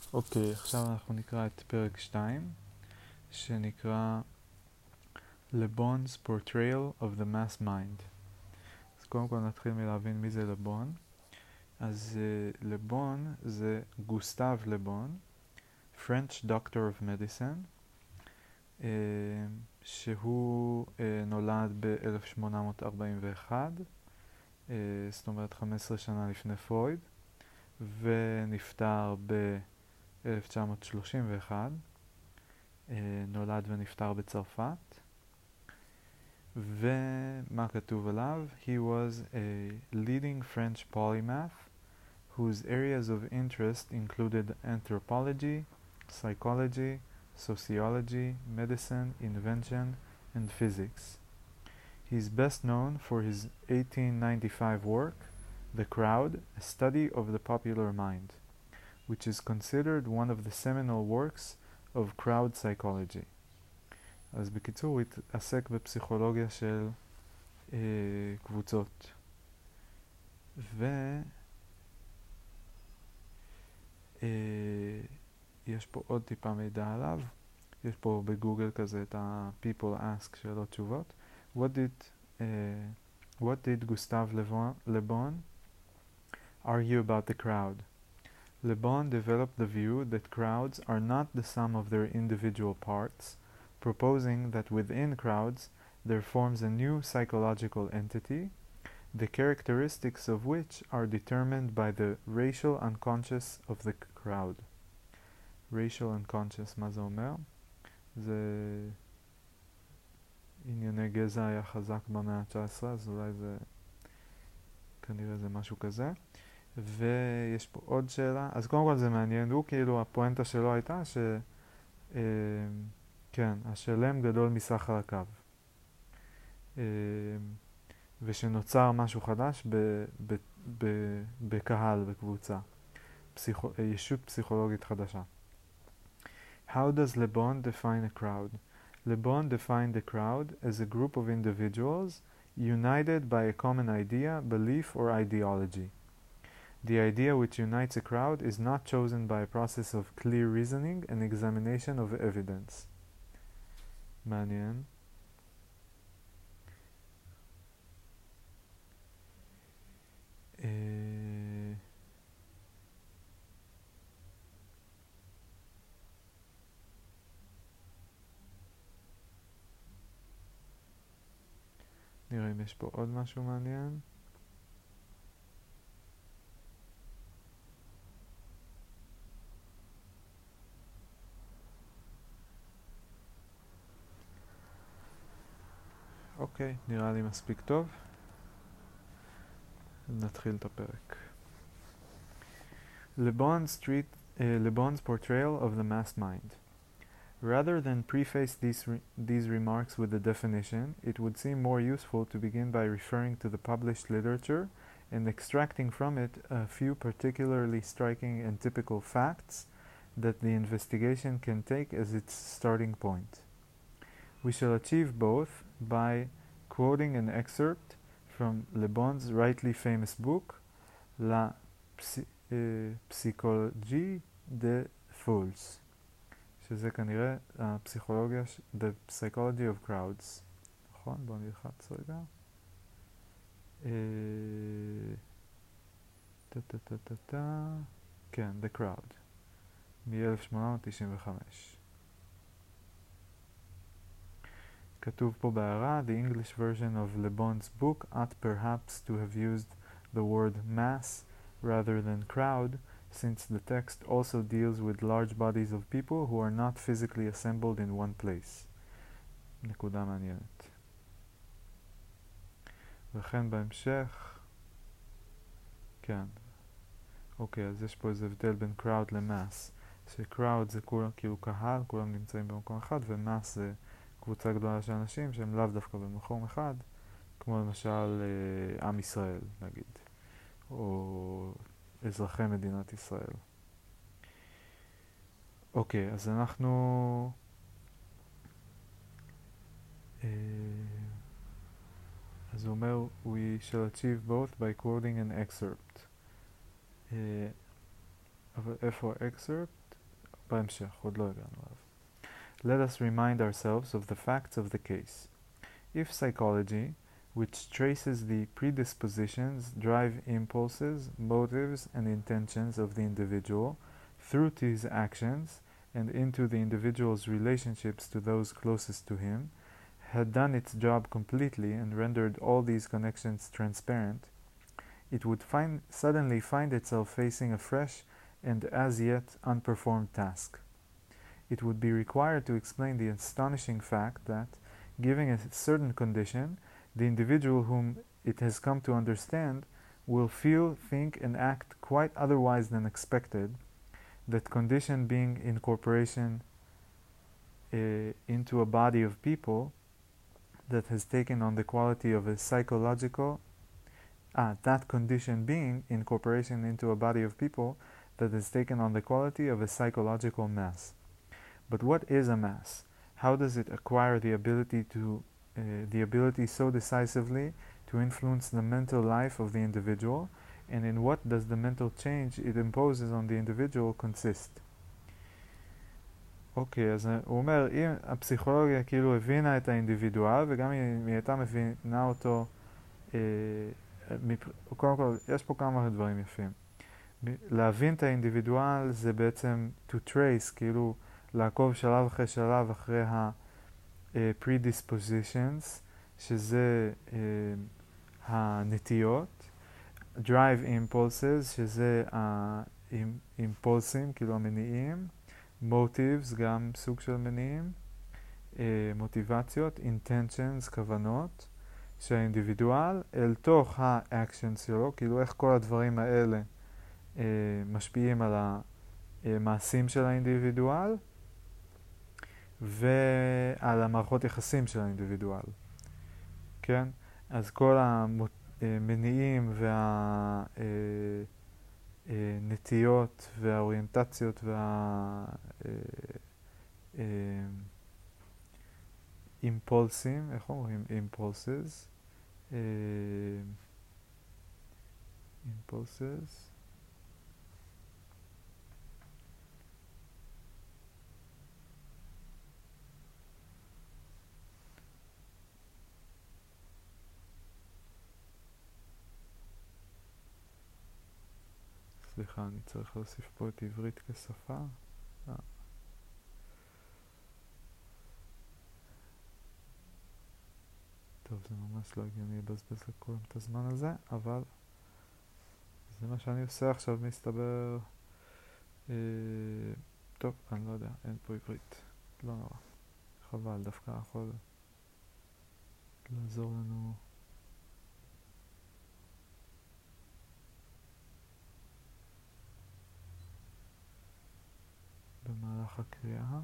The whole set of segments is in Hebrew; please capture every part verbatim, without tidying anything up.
אוקיי, עכשיו אנחנו נקרא את פרק שתיים, שנקרא Le Bon's Portrayal of the Mass Mind. אז קודם כל נתחיל מלהבין מי זה לבון. אז uh, לבון זה גוסטב לבון, French Doctor of Medicine, uh, שהוא uh, נולד ב-אלף שמונה מאות ארבעים ואחת, uh, זאת אומרת חמש עשרה שנה לפני פרויד, ונפטר ב-אלף תשע מאות שלושים ואחת. uh, נולד ונפטר בצרפת. ומה כתוב עליו? He was a leading French polymath whose areas of interest included anthropology, psychology, sociology, medicine, invention, and physics. He is best known for his eighteen ninety-five work, The Crowd, a study of the popular mind, which is considered one of the seminal works of crowd psychology. אז בקיצור הוא התעסק בפסיכולוגיה של אה, קבוצות. ויש אה, פה עוד טיפה מידע עליו. יש פה בגוגל כזה את ה-people ask שאלות תשובות. What did, uh, what did Gustave Le Bon argue about the crowd? Le Bon developed the view that crowds are not the sum of their individual parts, proposing that within crowds there forms a new psychological entity, the characteristics of which are determined by the racial unconscious of the crowd. racial unconscious, מה זה אומר? זה ענייני גזע היה חזק במאה ה-תשע עשרה, אז אולי זה כנראה זה משהו כזה. ויש פה עוד שאלה, אז קודם כל זה מעניין, הוא כאילו הפואנטה שלו הייתה ש... אה, כן, השלם גדול מסך הרקב. אה, ושנוצר משהו חדש ב, ב, ב, בקהל, בקבוצה. פסיכו, ישות פסיכולוגית חדשה. How does Le Bon define a crowd? Le Bon defined a crowd as a group of individuals united by a common idea, belief, or ideology. The idea which unites a crowd is not chosen by a process of clear reasoning and examination of evidence. מעניין. אה... נראה אם יש פה עוד משהו מעניין. אוקיי, נראה לי מספיק טוב. נתחיל את הפרק. Le Bon's, treat, uh, Le Bon's portrayal of the mass mind. Rather than preface these, re these remarks with a definition, it would seem more useful to begin by referring to the published literature and extracting from it a few particularly striking and typical facts that the investigation can take as its starting point. We shall achieve both by quoting an excerpt from Le Bon's rightly famous book, La Psy uh, Psychologie des Foules, שזה כנראה הפסיכולוגיה, the psychology of crowds. נכון? בואו נלחץ רגע. טה-טה-טה-טה-טה. כן, The Crowd. מ-אלף שמונה מאות תשעים וחמש. כתוב פה בהערה, the English version of Le Bon's book ought perhaps to have used the word mass rather than crowd, since the text also deals with large bodies of people who are not physically assembled in one place. נקודה מעניינת. וכן בהמשך, כן, אוקיי, אז יש פה איזה הבדל בין crowd ל-mass, ש-crowd זה כולם, כאילו קהל, כולם נמצאים במקום אחד, ו-mass זה קבוצה גדולה של אנשים שהם לאו דווקא במקום אחד, כמו למשל אה, עם ישראל, נגיד, או אזרחי מדינת ישראל. אוקיי, אז אנחנו... אה, אז הוא אומר, we shall achieve both by quoting an excerpt. אה, אבל איפה excerpt? בהמשך, עוד לא הגענו אליו. Let us remind ourselves of the facts of the case. If psychology, which traces the predispositions, drive impulses, motives, and intentions of the individual through to his actions and into the individual's relationships to those closest to him, had done its job completely and rendered all these connections transparent, it would find, suddenly find itself facing a fresh and as yet unperformed task. It would be required to explain the astonishing fact that, given a certain condition, the individual whom it has come to understand will feel, think, and act quite otherwise than expected, that condition being incorporation uh, into a body of people that has taken on the quality of a psychological, ah, that condition being incorporation into a body of people that has taken on the quality of a psychological mass. But what is a mass? How does it acquire the ability to uh, the ability so decisively to influence the mental life of the individual, and in what does the mental change it imposes on the individual consist? אוקיי, אז הוא אומר, אם הפסיכולוגיה כאילו הבינה את האינדיבידואל, וגם אם היא הייתה מבינה אותו, אה, מפ... קודם כל, יש פה כמה דברים יפים. להבין את האינדיבידואל זה בעצם to trace, כאילו לעקוב שלב אחרי שלב אחרי ה-predispositions, שזה uh, הנטיות, drive impulses, שזה האימפולסים, כאילו המניעים, motives, גם סוג של מניעים, uh, מוטיבציות, intentions, כוונות, שהאינדיבידואל אל תוך ה-actions שלו, כאילו איך כל הדברים האלה uh, משפיעים על המעשים של האינדיבידואל, ועל המערכות יחסים של האינדיבידואל. כן? אז כל המניעים והנטיות והאוריינטציות והאימפולסים, איך אומרים? impulses. impulses. סליחה, אני צריך להוסיף פה את עברית כשפה. אה. טוב, זה ממש לא הגיוני לבזבז לכולם את הזמן הזה, אבל זה מה שאני עושה עכשיו, מסתבר. אה, טוב, אני לא יודע, אין פה עברית. לא נורא. חבל, דווקא יכול לעזור לנו. במהלך הקריאה.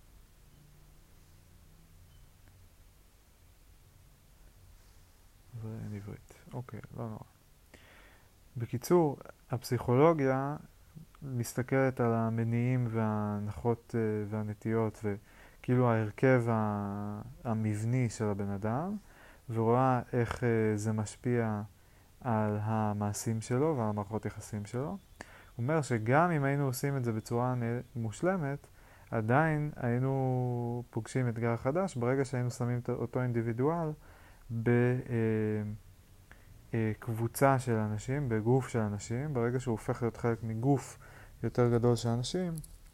ואין עברית. אוקיי, לא נורא. בקיצור, הפסיכולוגיה מסתכלת על המניעים וההנחות והנטיות וכאילו ההרכב המבני של הבן אדם, ורואה איך זה משפיע על המעשים שלו ועל המערכות יחסים שלו. הוא אומר שגם אם היינו עושים את זה בצורה מושלמת, עדיין היינו פוגשים אתגר חדש ברגע שהיינו שמים את אותו אינדיבידואל בקבוצה של אנשים, בגוף של אנשים. ברגע שהוא הופך להיות חלק מגוף יותר גדול של אנשים,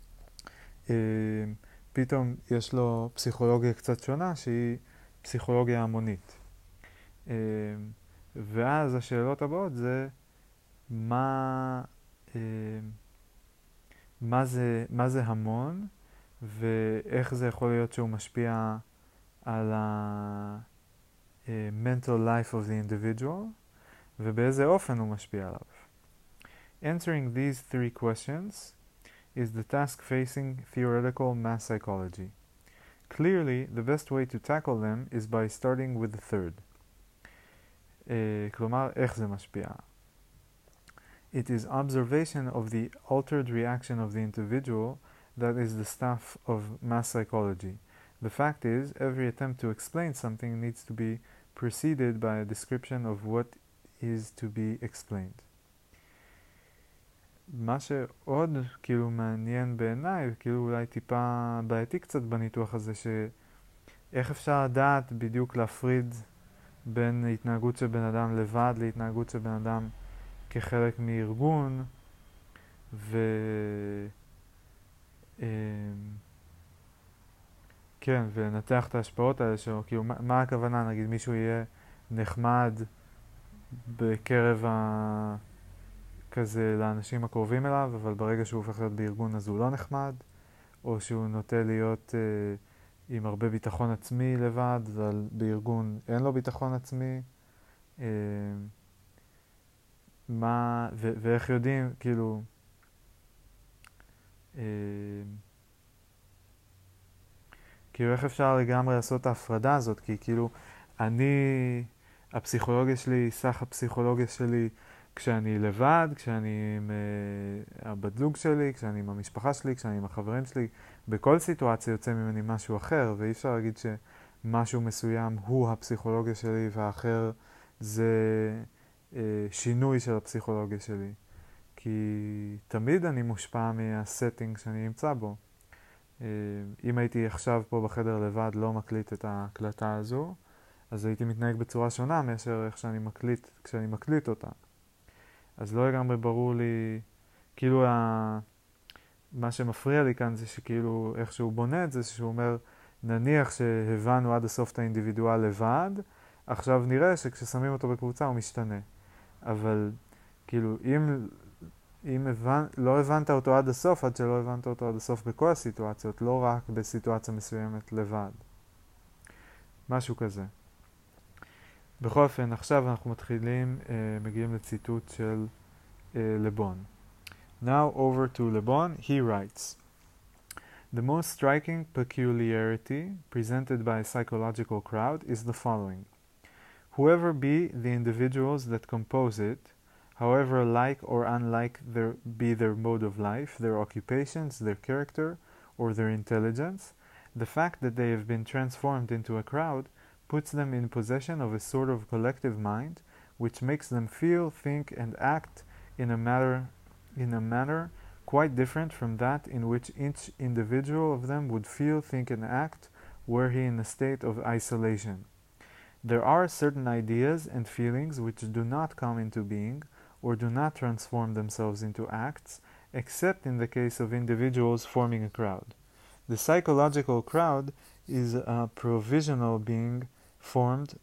פתאום יש לו פסיכולוגיה קצת שונה שהיא פסיכולוגיה המונית. ואז השאלות הבאות זה מה מה זה, מה זה המון, ואיך זה יכול להיות שהוא משפיע על ה mental life of the individual, ובאיזה אופן הוא משפיע עליו. Answering these three questions is the task facing theoretical mass psychology. Clearly, the best way to tackle them is by starting with the third. Uh, כלומר, איך זה משפיע? It is observation of the altered reaction of the individual that is the stuff of mass psychology. The fact is, every attempt to explain something needs to be preceded by a description of what is to be explained. מה שעוד כאילו מעניין בעיניי, כאילו אולי טיפה בעייתי קצת בניתוח הזה, שאיך אפשר לדעת בדיוק להפריד בין התנהגות של בן אדם לבד להתנהגות של בן אדם כחלק מארגון, ו... אמ, כן, ולנתח את ההשפעות האלה שלו, כאילו מה, מה הכוונה, נגיד מישהו יהיה נחמד בקרב ה... כזה לאנשים הקרובים אליו, אבל ברגע שהוא הופך להיות בארגון אז הוא לא נחמד, או שהוא נוטה להיות אה, עם הרבה ביטחון עצמי לבד, אבל בארגון אין לו ביטחון עצמי. אה, מה, ו- ואיך יודעים, כאילו, אה, כאילו איך אפשר לגמרי לעשות את ההפרדה הזאת, כי כאילו אני, הפסיכולוגיה שלי, סך הפסיכולוגיה שלי, כשאני לבד, כשאני עם uh, הבת זוג שלי, כשאני עם המשפחה שלי, כשאני עם החברים שלי, בכל סיטואציה יוצא ממני משהו אחר, ואי אפשר להגיד שמשהו מסוים הוא הפסיכולוגיה שלי והאחר זה uh, שינוי של הפסיכולוגיה שלי. כי תמיד אני מושפע מהסטינג שאני נמצא בו. Uh, אם הייתי עכשיו פה בחדר לבד, לא מקליט את ההקלטה הזו, אז הייתי מתנהג בצורה שונה מאשר איך שאני מקליט, כשאני מקליט אותה. אז לא לגמרי ברור לי, כאילו ה... מה שמפריע לי כאן זה שכאילו איך שהוא בונה את זה, שהוא אומר, נניח שהבנו עד הסוף את האינדיבידואל לבד, עכשיו נראה שכששמים אותו בקבוצה הוא משתנה. אבל כאילו אם, אם הבנ... לא הבנת אותו עד הסוף, עד שלא הבנת אותו עד הסוף בכל הסיטואציות, לא רק בסיטואציה מסוימת לבד. משהו כזה. בכל אופן, עכשיו אנחנו מתחילים, uh, מגיעים לציטוט של uh, לבון. Now over to Le Bon, he writes, the most striking peculiarity presented by a psychological crowd is the following. Whoever be the individuals that compose it, however like or unlike their, be their mode of life, their occupations, their character, or their intelligence, the fact that they have been transformed into a crowd puts them in possession of a sort of collective mind, which makes them feel, think, and act in a manner, in a manner quite different from that in which each individual of them would feel, think, and act were he in a state of isolation. There are certain ideas and feelings which do not come into being or do not transform themselves into acts, except in the case of individuals forming a crowd. The psychological crowd is a provisional being formed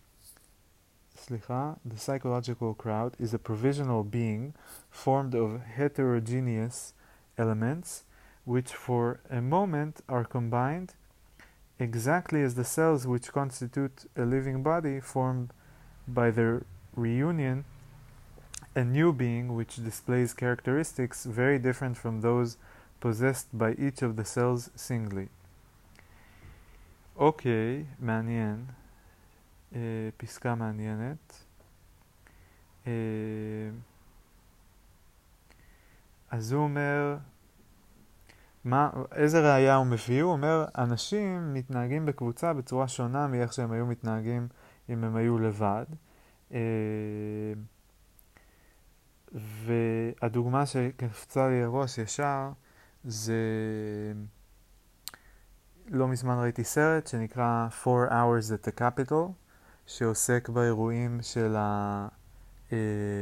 Slicha, the psychological crowd is a provisional being formed of heterogeneous elements which for a moment are combined exactly as the cells which constitute a living body form by their reunion a new being which displays characteristics very different from those possessed by each of the cells singly. אוקיי, מעניין. Uh, פסקה מעניינת. Uh, אז הוא אומר, מה, איזה ראייה הוא מביא? הוא אומר, אנשים מתנהגים בקבוצה בצורה שונה מאיך שהם היו מתנהגים אם הם היו לבד. Uh, והדוגמה שקפצה לי הראש ישר זה לא מזמן ראיתי סרט שנקרא four hours at the Capitol, שעוסק באירועים של ה... אה,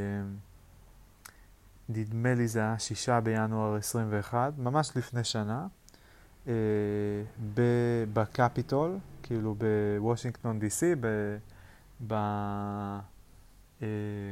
נדמה לי זה היה שישה בינואר עשרים ואחת, ממש לפני שנה, אה, בקפיטול, כאילו בוושינגטון די סי, ב... ב אה,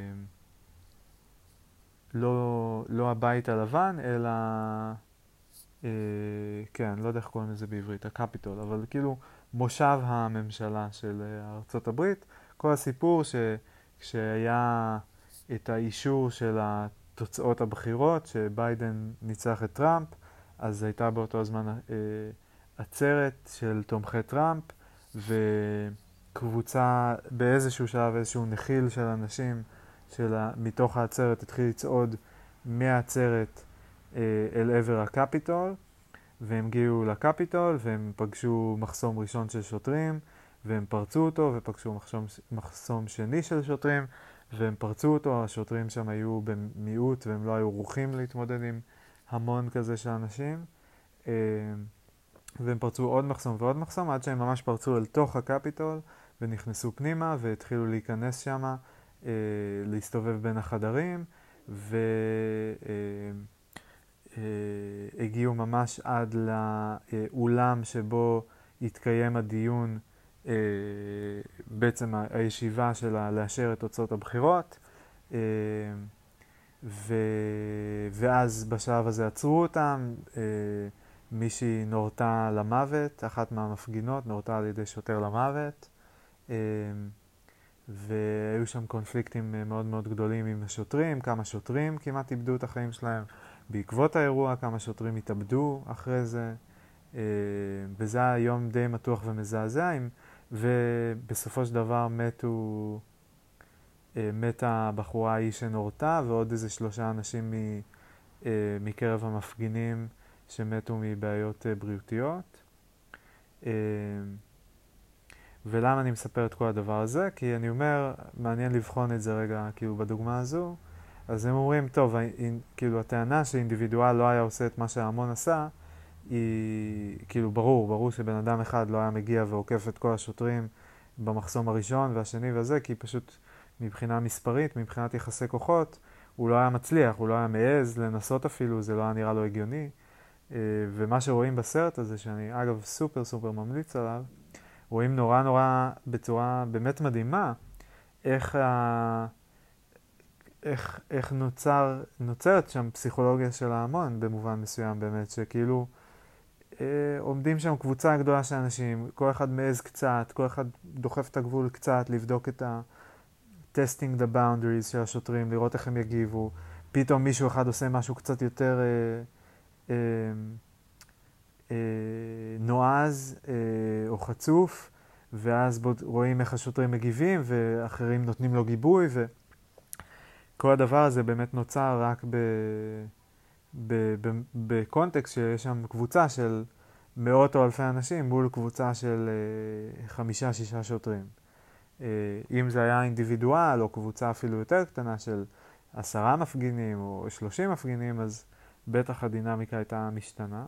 לא, לא הבית הלבן, אלא... אה, כן, לא יודע איך קוראים לזה בעברית, הקפיטול, אבל כאילו מושב הממשלה של ארצות הברית. כל הסיפור שכשהיה את האישור של התוצאות הבחירות, שביידן ניצח את טראמפ, אז הייתה באותו הזמן אה, עצרת של תומכי טראמפ, וקבוצה באיזשהו שלב, איזשהו נחיל של אנשים של, מתוך העצרת התחיל לצעוד מהעצרת אה, אל עבר הקפיטול, והם הגיעו לקפיטול והם פגשו מחסום ראשון של שוטרים והם פרצו אותו ופגשו מחסום, מחסום שני של שוטרים והם פרצו אותו, השוטרים שם היו במיעוט והם לא היו ערוכים להתמודד עם המון כזה של אנשים, והם פרצו עוד מחסום ועוד מחסום עד שהם ממש פרצו אל תוך הקפיטול ונכנסו פנימה והתחילו להיכנס שם, להסתובב בין החדרים, והגיעו ממש עד לאולם שבו התקיים הדיון, בעצם הישיבה שלה לאשר את תוצאות הבחירות, ו... ואז בשלב הזה עצרו אותם, מישהי נורתה למוות, אחת מהמפגינות נורתה על ידי שוטר למוות, והיו שם קונפליקטים מאוד מאוד גדולים עם השוטרים, כמה שוטרים כמעט איבדו את החיים שלהם בעקבות האירוע, כמה שוטרים התאבדו אחרי זה, וזה היה יום די מתוח ומזעזע, ובסופו של דבר מתו, מתה הבחורה ההיא שנורתה ועוד איזה שלושה אנשים מקרב המפגינים שמתו מבעיות בריאותיות. ולמה אני מספר את כל הדבר הזה? כי אני אומר, מעניין לבחון את זה רגע, כאילו בדוגמה הזו. אז הם אומרים, טוב, כאילו הטענה שאינדיבידואל לא היה עושה את מה שההמון עשה, היא כאילו ברור, ברור שבן אדם אחד לא היה מגיע ועוקף את כל השוטרים במחסום הראשון והשני וזה, כי פשוט מבחינה מספרית, מבחינת יחסי כוחות, הוא לא היה מצליח, הוא לא היה מעז לנסות אפילו, זה לא היה נראה לו הגיוני. ומה שרואים בסרט הזה, שאני אגב סופר סופר ממליץ עליו, רואים נורא נורא בצורה באמת מדהימה, איך, ה... איך, איך נוצר, נוצרת שם פסיכולוגיה של ההמון במובן מסוים באמת, שכאילו אה, עומדים שם קבוצה גדולה של אנשים, כל אחד מעז קצת, כל אחד דוחף את הגבול קצת, לבדוק את ה... testing the boundaries של השוטרים, לראות איך הם יגיבו, פתאום מישהו אחד עושה משהו קצת יותר אה, אה, אה, נועז אה, או חצוף, ואז בוד, רואים איך השוטרים מגיבים ואחרים נותנים לו גיבוי, וכל הדבר הזה באמת נוצר רק ב, ב, ב, בקונטקסט שיש שם קבוצה של מאות או אלפי אנשים מול קבוצה של אה, חמישה שישה שוטרים. אה, אם זה היה אינדיבידואל או קבוצה אפילו יותר קטנה של עשרה מפגינים או שלושים מפגינים, אז בטח הדינמיקה הייתה משתנה.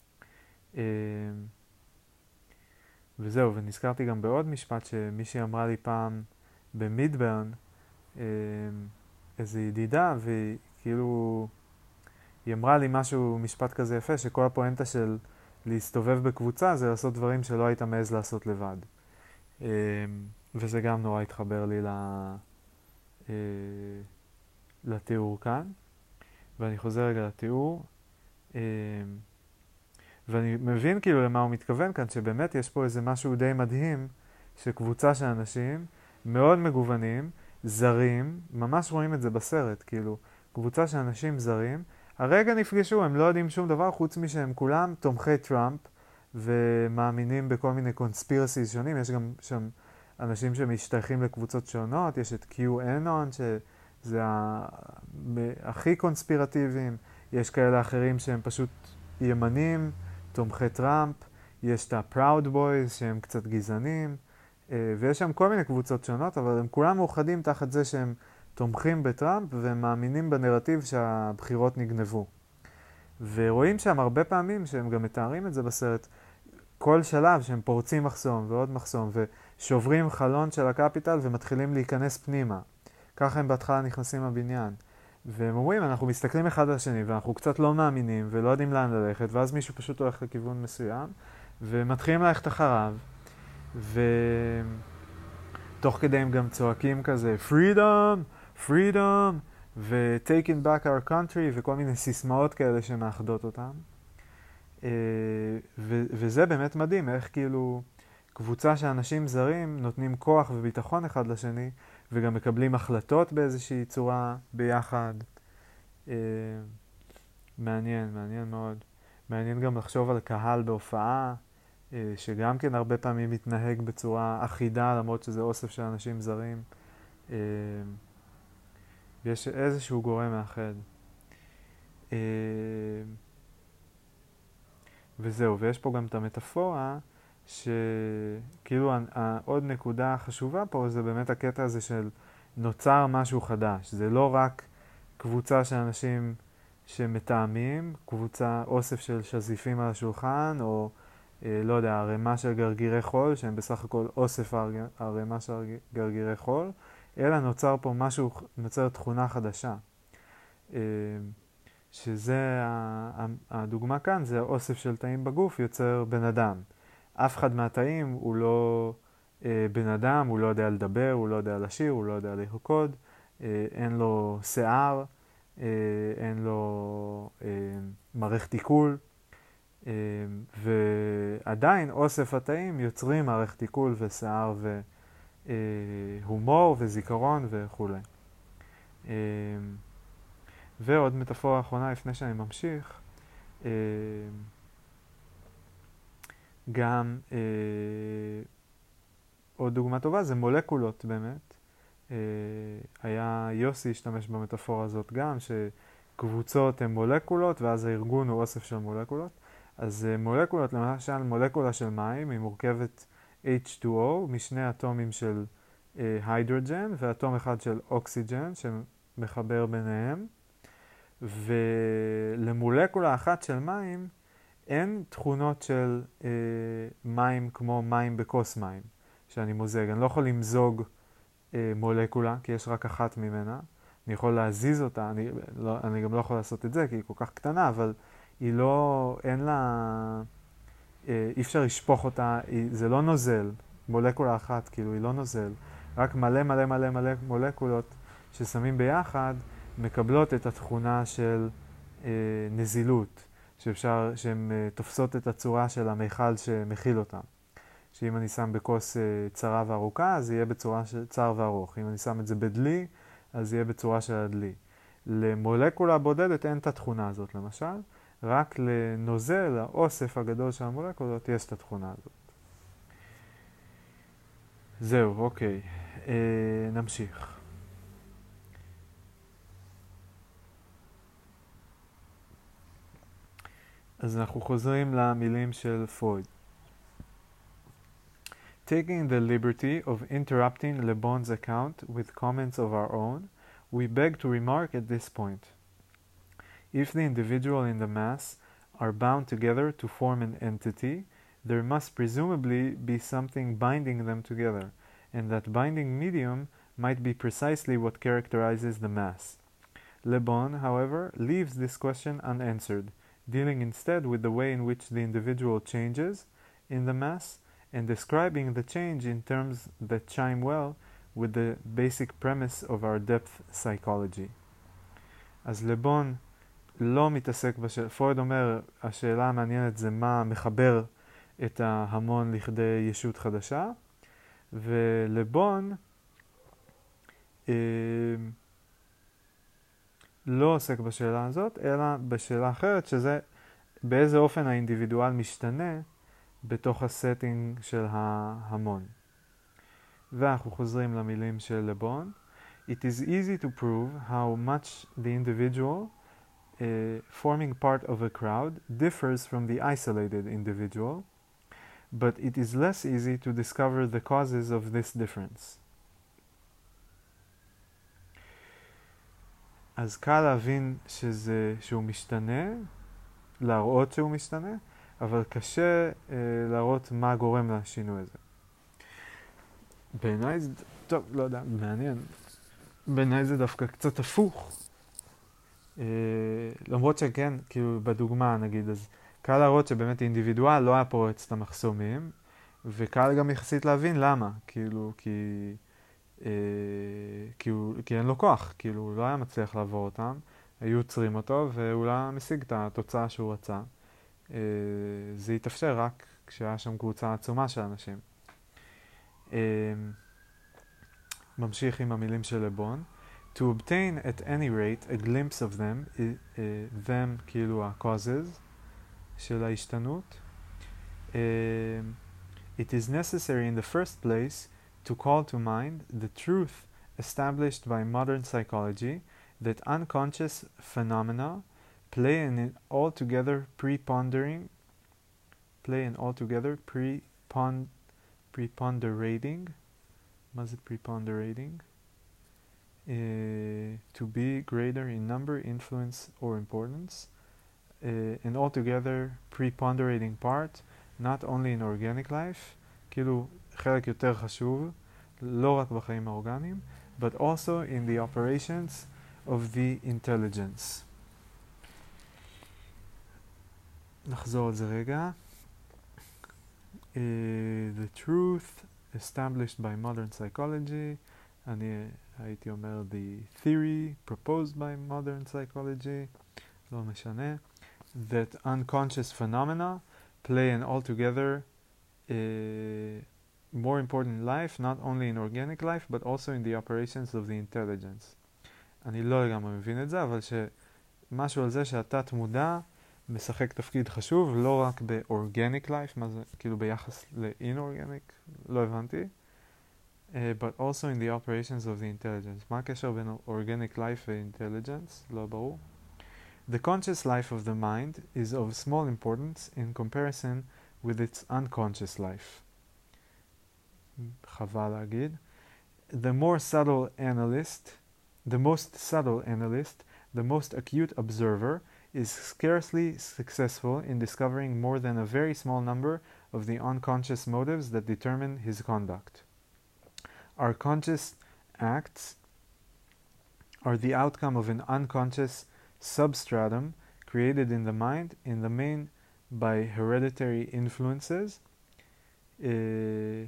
וזהו, ונזכרתי גם בעוד משפט שמישהי אמרה לי פעם במידברן, איזו ידידה, והיא כאילו, היא אמרה לי משהו, משפט כזה יפה, שכל הפואנטה של להסתובב בקבוצה זה לעשות דברים שלא היית מעז לעשות לבד. וזה גם נורא התחבר לי לתיאור כאן. ואני חוזר רגע לתיאור. ואני מבין כאילו למה הוא מתכוון כאן, שבאמת יש פה איזה משהו די מדהים, שקבוצה של אנשים מאוד מגוונים, זרים, ממש רואים את זה בסרט, כאילו, קבוצה של אנשים זרים, הרגע נפגשו, הם לא יודעים שום דבר, חוץ משהם כולם תומכי טראמפ, ומאמינים בכל מיני קונספירסיס שונים, יש גם שם אנשים שמשתייכים לקבוצות שונות, יש את QAnon, שזה הכי קונספירטיביים, יש כאלה אחרים שהם פשוט ימנים, תומכי טראמפ, יש את ה-Proud Boys שהם קצת גזענים, ויש שם כל מיני קבוצות שונות, אבל הם כולם מאוחדים תחת זה שהם תומכים בטראמפ והם מאמינים בנרטיב שהבחירות נגנבו. ורואים שם הרבה פעמים שהם גם מתארים את זה בסרט, כל שלב שהם פורצים מחסום ועוד מחסום ושוברים חלון של הקפיטל ומתחילים להיכנס פנימה. ככה הם בהתחלה נכנסים לבניין. והם אומרים, אנחנו מסתכלים אחד על השני ואנחנו קצת לא מאמינים ולא יודעים לאן ללכת, ואז מישהו פשוט הולך לכיוון מסוים ומתחילים ללכת אחריו, ותוך כדי הם גם צועקים כזה freedom, freedom ו-taking back our country וכל מיני סיסמאות כאלה שמאחדות אותם. ו- וזה באמת מדהים, איך כאילו קבוצה של אנשים זרים נותנים כוח וביטחון אחד לשני, וגם מקבלים החלטות באיזושהי צורה ביחד. מעניין, מעניין מאוד. מעניין גם לחשוב על קהל בהופעה, שגם כן הרבה פעמים מתנהג בצורה אחידה, למרות שזה אוסף של אנשים זרים. ויש איזשהו גורם מאחד. וזהו, ויש פה גם את המטאפורה, שכאילו עוד נקודה חשובה פה זה באמת הקטע הזה של נוצר משהו חדש. זה לא רק קבוצה של אנשים שמתאמים, קבוצה, אוסף של שזיפים על השולחן, או אה, לא יודע, ערימה של גרגירי חול, שהם בסך הכל אוסף ערימה של גרגירי חול, אלא נוצר פה משהו, נוצר תכונה חדשה. אה, שזה, הדוגמה כאן, זה אוסף של תאים בגוף יוצר בן אדם. אף אחד מהתאים הוא לא אה, בן אדם, הוא לא יודע לדבר, הוא לא יודע לשיר, הוא לא יודע לרקוד, אה, אין לו שיער, אה, אין לו אה, מערכת עיכול, אה, ועדיין אוסף התאים יוצרים מערכת עיכול ושיער והומור וזיכרון וכו'. אה, ועוד מטאפורה אחרונה לפני שאני ממשיך, אה, גם אה, עוד דוגמה טובה זה מולקולות באמת. אה, היה יוסי השתמש במטאפורה הזאת גם, שקבוצות הן מולקולות ואז הארגון הוא אוסף של מולקולות. אז אה, מולקולות, למשל מולקולה של מים, היא מורכבת אייץ' טו או משני אטומים של היידרוג'ן אה, ואטום אחד של אוקסיג'ן שמחבר ביניהם. ולמולקולה אחת של מים אין תכונות של אה, מים כמו מים בכוס מים שאני מוזג. אני לא יכול למזוג אה, מולקולה כי יש רק אחת ממנה. אני יכול להזיז אותה, אני, לא, אני גם לא יכול לעשות את זה כי היא כל כך קטנה, אבל היא לא, אין לה, אה, אי אפשר לשפוך אותה, היא, זה לא נוזל, מולקולה אחת כאילו היא לא נוזל, רק מלא מלא מלא מלא מולקולות ששמים ביחד מקבלות את התכונה של אה, נזילות, שאפשר, שהן אה, תופסות את הצורה של המיכל שמכיל אותם. שאם אני שם בכוס אה, צרה וארוכה, אז יהיה בצורה של צר וארוך. אם אני שם את זה בדלי, אז יהיה בצורה של הדלי. למולקולה בודדת אין את התכונה הזאת למשל, רק לנוזל, האוסף הגדול של המולקולות, יש את התכונה הזאת. זהו, אוקיי. אה, נמשיך. אז אנחנו חוזרים למילים של פרויד. Taking the liberty of interrupting Le Bon's account with comments of our own, we beg to remark at this point. If the individual and the mass are bound together to form an entity, there must presumably be something binding them together, and that binding medium might be precisely what characterizes the mass. Le Bon, however, leaves this question unanswered, dealing instead with the way in which the individual changes in the mass, and describing the change in terms that chime well with the basic premise of our depth psychology. אז לבון לא מתעסק בשאלה, פרויד אומר, השאלה המעניינת זה מה מחבר את ההמון לכדי ישות חדשה, ולבון אה, לא עוסק בשאלה הזאת, אלא בשאלה אחרת, שזה באיזה אופן האינדיבידואל משתנה בתוך הסטינג של ההמון. ואנחנו חוזרים למילים של לבון. It is easy to prove how much the individual uh, forming part of a crowd differs from the isolated individual, but it is less easy to discover the causes of this difference. אז קל להבין שזה, שהוא משתנה, להראות שהוא משתנה, אבל קשה אה, להראות מה גורם לשינוי הזה. בעיניי זה, טוב, לא יודע, מעניין. בעיניי זה דווקא קצת הפוך. אה, למרות שכן, כאילו בדוגמה נגיד, אז קל להראות שבאמת אינדיבידואל לא היה פורץ את המחסומים, וקל גם יחסית להבין למה, כאילו, כי, אה, כי, הוא, כי אין לו כוח, כאילו, הוא לא היה מצליח לעבור אותם, היו עוצרים אותו, והוא לא היה משיג את התוצאה שהוא רצה. Uh, זה יתאפשר רק כשהיה שם קבוצה עצומה של אנשים. Uh, ממשיך עם המילים של לבון. To obtain at any rate a glimpse of them, uh, them כאילו ה-causes של ההשתנות, uh, it is necessary in the first place to call to mind the truth established by modern psychology that unconscious phenomena play an altogether prepondering, play an altogether prepon, preponderating, מה זה preponderating? to be greater in number, influence, or importance, uh, and altogether preponderating part, not only in organic life, כאילו חלק יותר חשוב, לא רק בחיים האורגניים, but also in the operations of the intelligence. נחזור על זה רגע. Uh, the truth established by modern psychology, אני הייתי אומר the theory proposed by modern psychology, לא משנה, that unconscious phenomena play an altogether uh, more important life, not only in organic life, but also in the operations of the intelligence. אני לא לגמרי מבין את זה, אבל שמשהו על זה שהתת מודע משחק תפקיד חשוב, לא רק ב-organic life, מה זה, כאילו ביחס ל-inorganic, לא הבנתי, uh, but also in the operations of the intelligence. מה הקשר בין organic life ו-intelligence? לא ברור. The conscious life of the mind is of small importance in comparison with its unconscious life. חבל להגיד. The more subtle analyst, the most subtle analyst, the most acute observer, is scarcely successful in discovering more than a very small number of the unconscious motives that determine his conduct. Our conscious acts are the outcome of an unconscious substratum created in the mind, in the main by hereditary influences. Uh,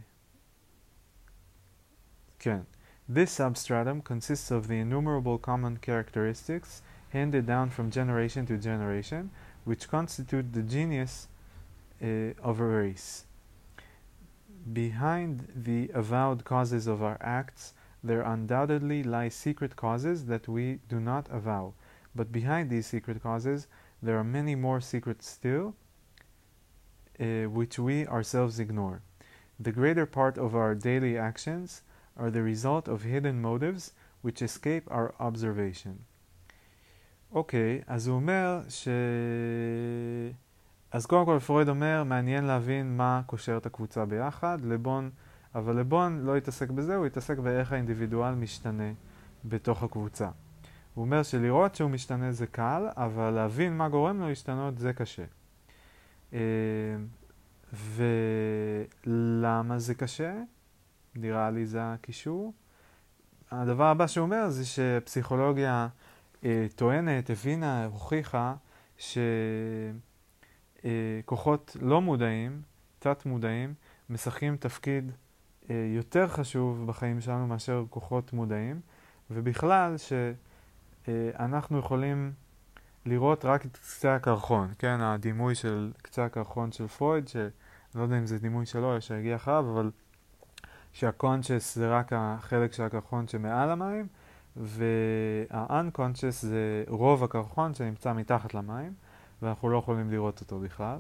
can. This substratum consists of the innumerable common characteristics handed down from generation to generation, which constitute the genius uh, of a race. Behind the avowed causes of our acts, there undoubtedly lie secret causes that we do not avow. But behind these secret causes, there are many more secrets still, uh, which we ourselves ignore. The greater part of our daily actions are the result of hidden motives which escape our observation. אוקיי, okay, אז הוא אומר ש... אז קודם כל פרויד אומר, מעניין להבין מה קושר את הקבוצה ביחד, לבון, אבל לבון לא יתעסק בזה, הוא יתעסק באיך האינדיבידואל משתנה בתוך הקבוצה. הוא אומר שלראות שהוא משתנה זה קל, אבל להבין מה גורם לו להשתנות זה קשה. ולמה זה קשה? נראה לי זה הקישור. הדבר הבא שהוא אומר זה שפסיכולוגיה אה, טוענת, הבינה, הוכיחה שכוחות לא מודעים, תת מודעים, משחקים תפקיד אה, יותר חשוב בחיים שלנו מאשר כוחות מודעים, ובכלל שאנחנו אה, יכולים לראות רק את קצה הקרחון, כן, הדימוי של קצה הקרחון של פרויד, שאני לא יודע אם זה דימוי שלו או שהגיע אחריו, אבל שהקונשס זה רק החלק של הקרחון שמעל המים, וה-unconscious זה רוב הקרחון שנמצא מתחת למים, ואנחנו לא יכולים לראות אותו בכלל.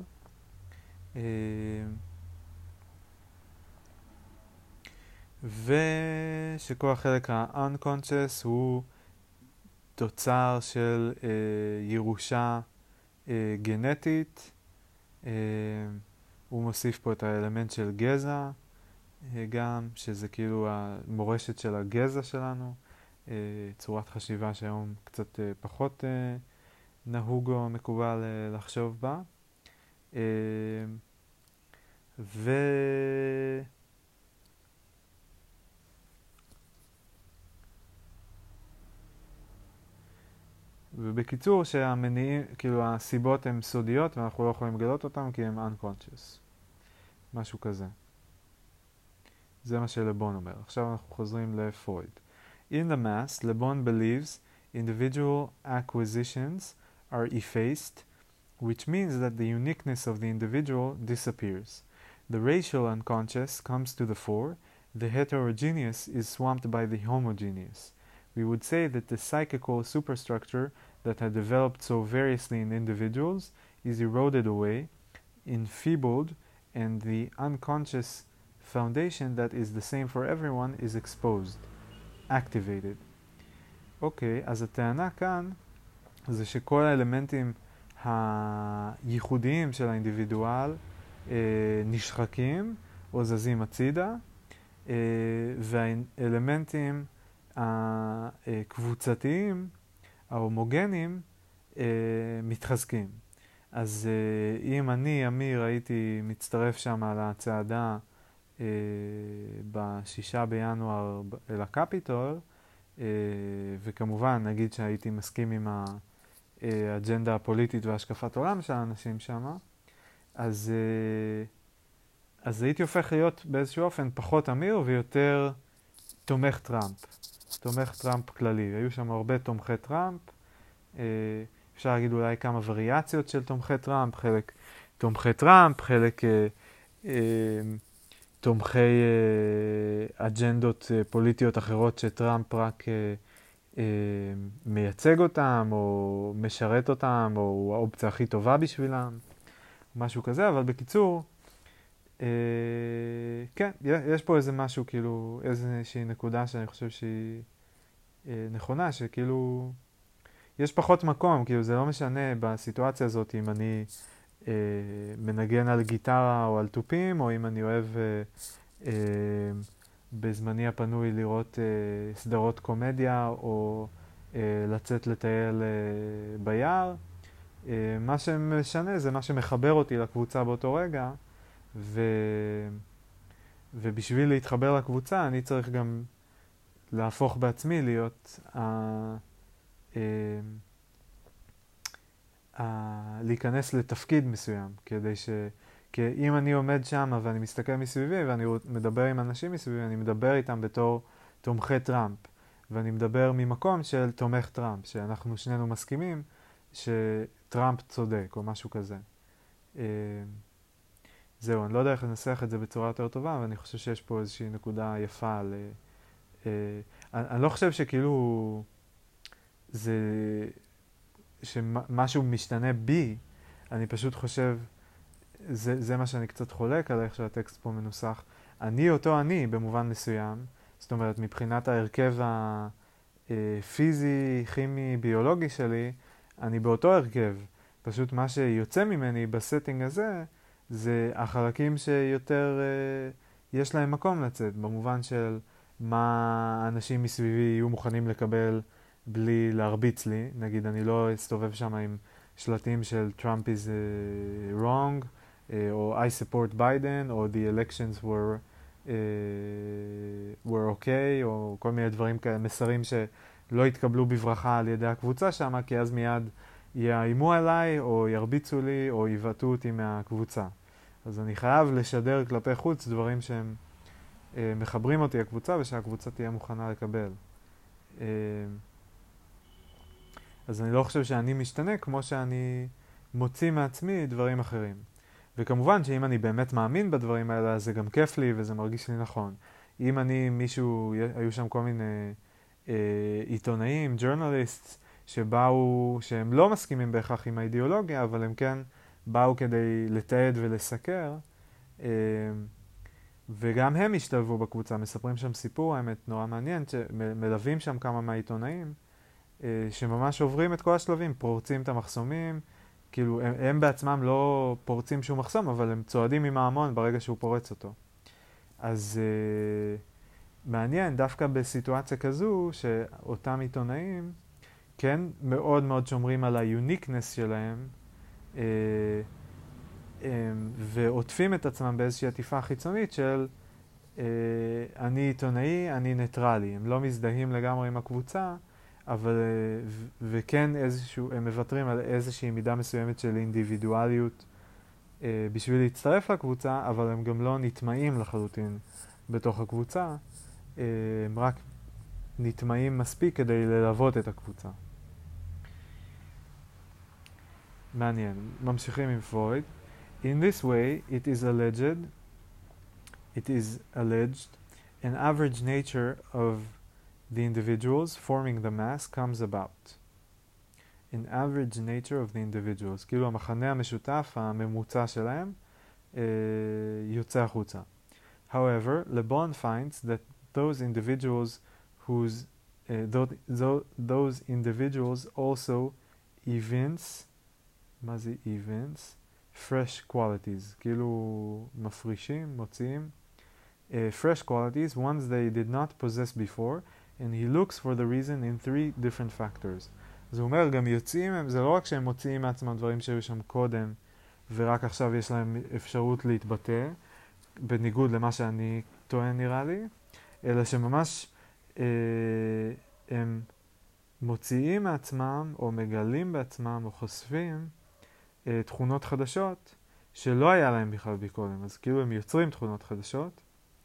ושכל החלק ה-unconscious הוא תוצר של אה, ירושה אה, גנטית. אה, הוא מוסיף פה את האלמנט של גזע, גם, שזה כאילו המורשת של הגזע שלנו, צורת חשיבה שהיום קצת פחות נהוג או מקובל לחשוב בה. ו... ובקיצור שהמניעים, כאילו הסיבות הן סודיות ואנחנו לא יכולים לגלות אותן כי הן unconscious. משהו כזה. זה מה שלבון אומר. עכשיו אנחנו חוזרים לפרויד. In the mass, Lebon believes individual acquisitions are effaced, which means that the uniqueness of the individual disappears. The racial unconscious comes to the fore, the heterogeneous is swamped by the homogeneous. We would say that the psychical superstructure that had developed so variously in individuals is eroded away, enfeebled, and the unconscious foundation that is the same for everyone is exposed, activated. אוקיי, אז הטענה כאן זה שכל האלמנטים הייחודיים של האינדיבידואל אה, נשחקים או זזים הצידה, אה, והאלמנטים הקבוצתיים, ההומוגנים, מתחזקים. אז אם אני, אמיר, הייתי מצטרף שם על הצעדה בשישה בינואר אל הקפיטול, וכמובן נגיד שהייתי מסכים עם האג'נדה הפוליטית והשקפת עולם של האנשים שם, אז, אז הייתי הופך להיות באיזשהו אופן פחות אמיר ויותר תומך טראמפ. תומך טראמפ כללי. היו שם הרבה תומכי טראמפ. אפשר להגיד אולי כמה וריאציות של תומכי טראמפ, חלק תומכי טראמפ, חלק אה, אה, תומכי אה, אג'נדות אה, פוליטיות אחרות שטראמפ רק אה, אה, מייצג אותם או משרת אותם או האופציה הכי טובה בשבילם, משהו כזה. אבל בקיצור, אה, כן, יש פה איזה משהו, כאילו איזושהי נקודה שאני חושב שהיא אה, נכונה, שכאילו יש פחות מקום, כאילו זה לא משנה בסיטואציה הזאת אם אני אה, מנגן על גיטרה או על טופים, או אם אני אוהב אה, אה, בזמני הפנוי לראות אה, סדרות קומדיה, או אה, לצאת לטייל אה, ביער. אה, מה שמשנה זה מה שמחבר אותי לקבוצה באותו רגע, ו... ובשביל להתחבר לקבוצה אני צריך גם להפוך בעצמי להיות ה... Uh, uh, להיכנס לתפקיד מסוים, כדי ש... כי אם אני עומד שם ואני מסתכל מסביבי ואני מדבר עם אנשים מסביבי, אני מדבר איתם בתור תומכי טראמפ, ואני מדבר ממקום של תומך טראמפ, שאנחנו שנינו מסכימים שטראמפ צודק או משהו כזה. Uh, זהו, אני לא יודע איך לנסח את זה בצורה יותר טובה, אבל אני חושב שיש פה איזושהי נקודה יפה על... Uh, אני, אני לא חושב שכאילו... זה שמשהו משתנה בי, אני פשוט חושב, זה, זה מה שאני קצת חולק על איך שהטקסט פה מנוסח. אני אותו אני במובן מסוים, זאת אומרת מבחינת ההרכב הפיזי, כימי, ביולוגי שלי, אני באותו הרכב. פשוט מה שיוצא ממני בסטינג הזה, זה החלקים שיותר יש להם מקום לצאת, במובן של מה האנשים מסביבי יהיו מוכנים לקבל בלי להרביץ לי. נגיד, אני לא אסתובב שם עם שלטים של Trump is uh, wrong, uh, או I support Biden, או the elections were, uh, were okay, או כל מיני דברים כאלה, מסרים שלא יתקבלו בברכה על ידי הקבוצה שם, כי אז מיד יאיימו עליי, או ירביצו לי, או יבטאו אותי מהקבוצה. אז אני חייב לשדר כלפי חוץ דברים שהם uh, מחברים אותי לקבוצה, ושהקבוצה תהיה מוכנה לקבל. Uh, אז אני לא חושב שאני משתנה כמו שאני מוציא מעצמי דברים אחרים. וכמובן שאם אני באמת מאמין בדברים האלה, אז זה גם כיף לי וזה מרגיש לי נכון. אם אני, מישהו, היו שם כל מיני אה, עיתונאים, ג'ורנליסט, שבאו, שהם לא מסכימים בהכרח עם האידיאולוגיה, אבל הם כן באו כדי לתעד ולסקר, אה, וגם הם השתלבו בקבוצה, מספרים שם סיפור, האמת נורא מעניין, שמלווים שם כמה מהעיתונאים, שממש עוברים את כל השלבים, פורצים את המחסומים, כאילו הם, הם בעצמם לא פורצים שום מחסום, אבל הם צועדים עם ההמון ברגע שהוא פורץ אותו. אז uh, מעניין, דווקא בסיטואציה כזו, שאותם עיתונאים כן מאוד מאוד שומרים על היוניקנס שלהם, uh, um, ועוטפים את עצמם באיזושהי עטיפה חיצונית של uh, אני עיתונאי, אני ניטרלי. הם לא מזדהים לגמרי עם הקבוצה, אבל, ו- וכן איזשהו, הם מוותרים על איזושהי מידה מסוימת של אינדיבידואליות אה, בשביל להצטרף לקבוצה, אבל הם גם לא נטמעים לחלוטין בתוך הקבוצה, אה, הם רק נטמעים מספיק כדי ללוות את הקבוצה. מעניין, ממשיכים עם פרויד. In this way, it is alleged, it is alleged, an average nature of the individuals forming the mass comes about. An average nature of the individuals. כאילו המחנה המשותף, הממוצע שלהם, uh, יוצא החוצה. However, LeBon finds that those individuals whose uh, those, those individuals also evince, מה זה evince? fresh qualities. כאילו מפרישים, מוציאים. Uh, fresh qualities, ones they did not possess before, and he looks for the reason in three different factors. אז הוא אומר, גם יוצאים הם, זה לא רק שהם מוציאים מעצמם דברים שהיו שם קודם, ורק עכשיו יש להם אפשרות להתבטא, בניגוד למה שאני טוען נראה לי, אלא שממש אה, הם מוציאים מעצמם, או מגלים בעצמם, או חושפים אה, תכונות חדשות, שלא היה להם בכלל בקודם. אז כאילו הם יוצרים תכונות חדשות,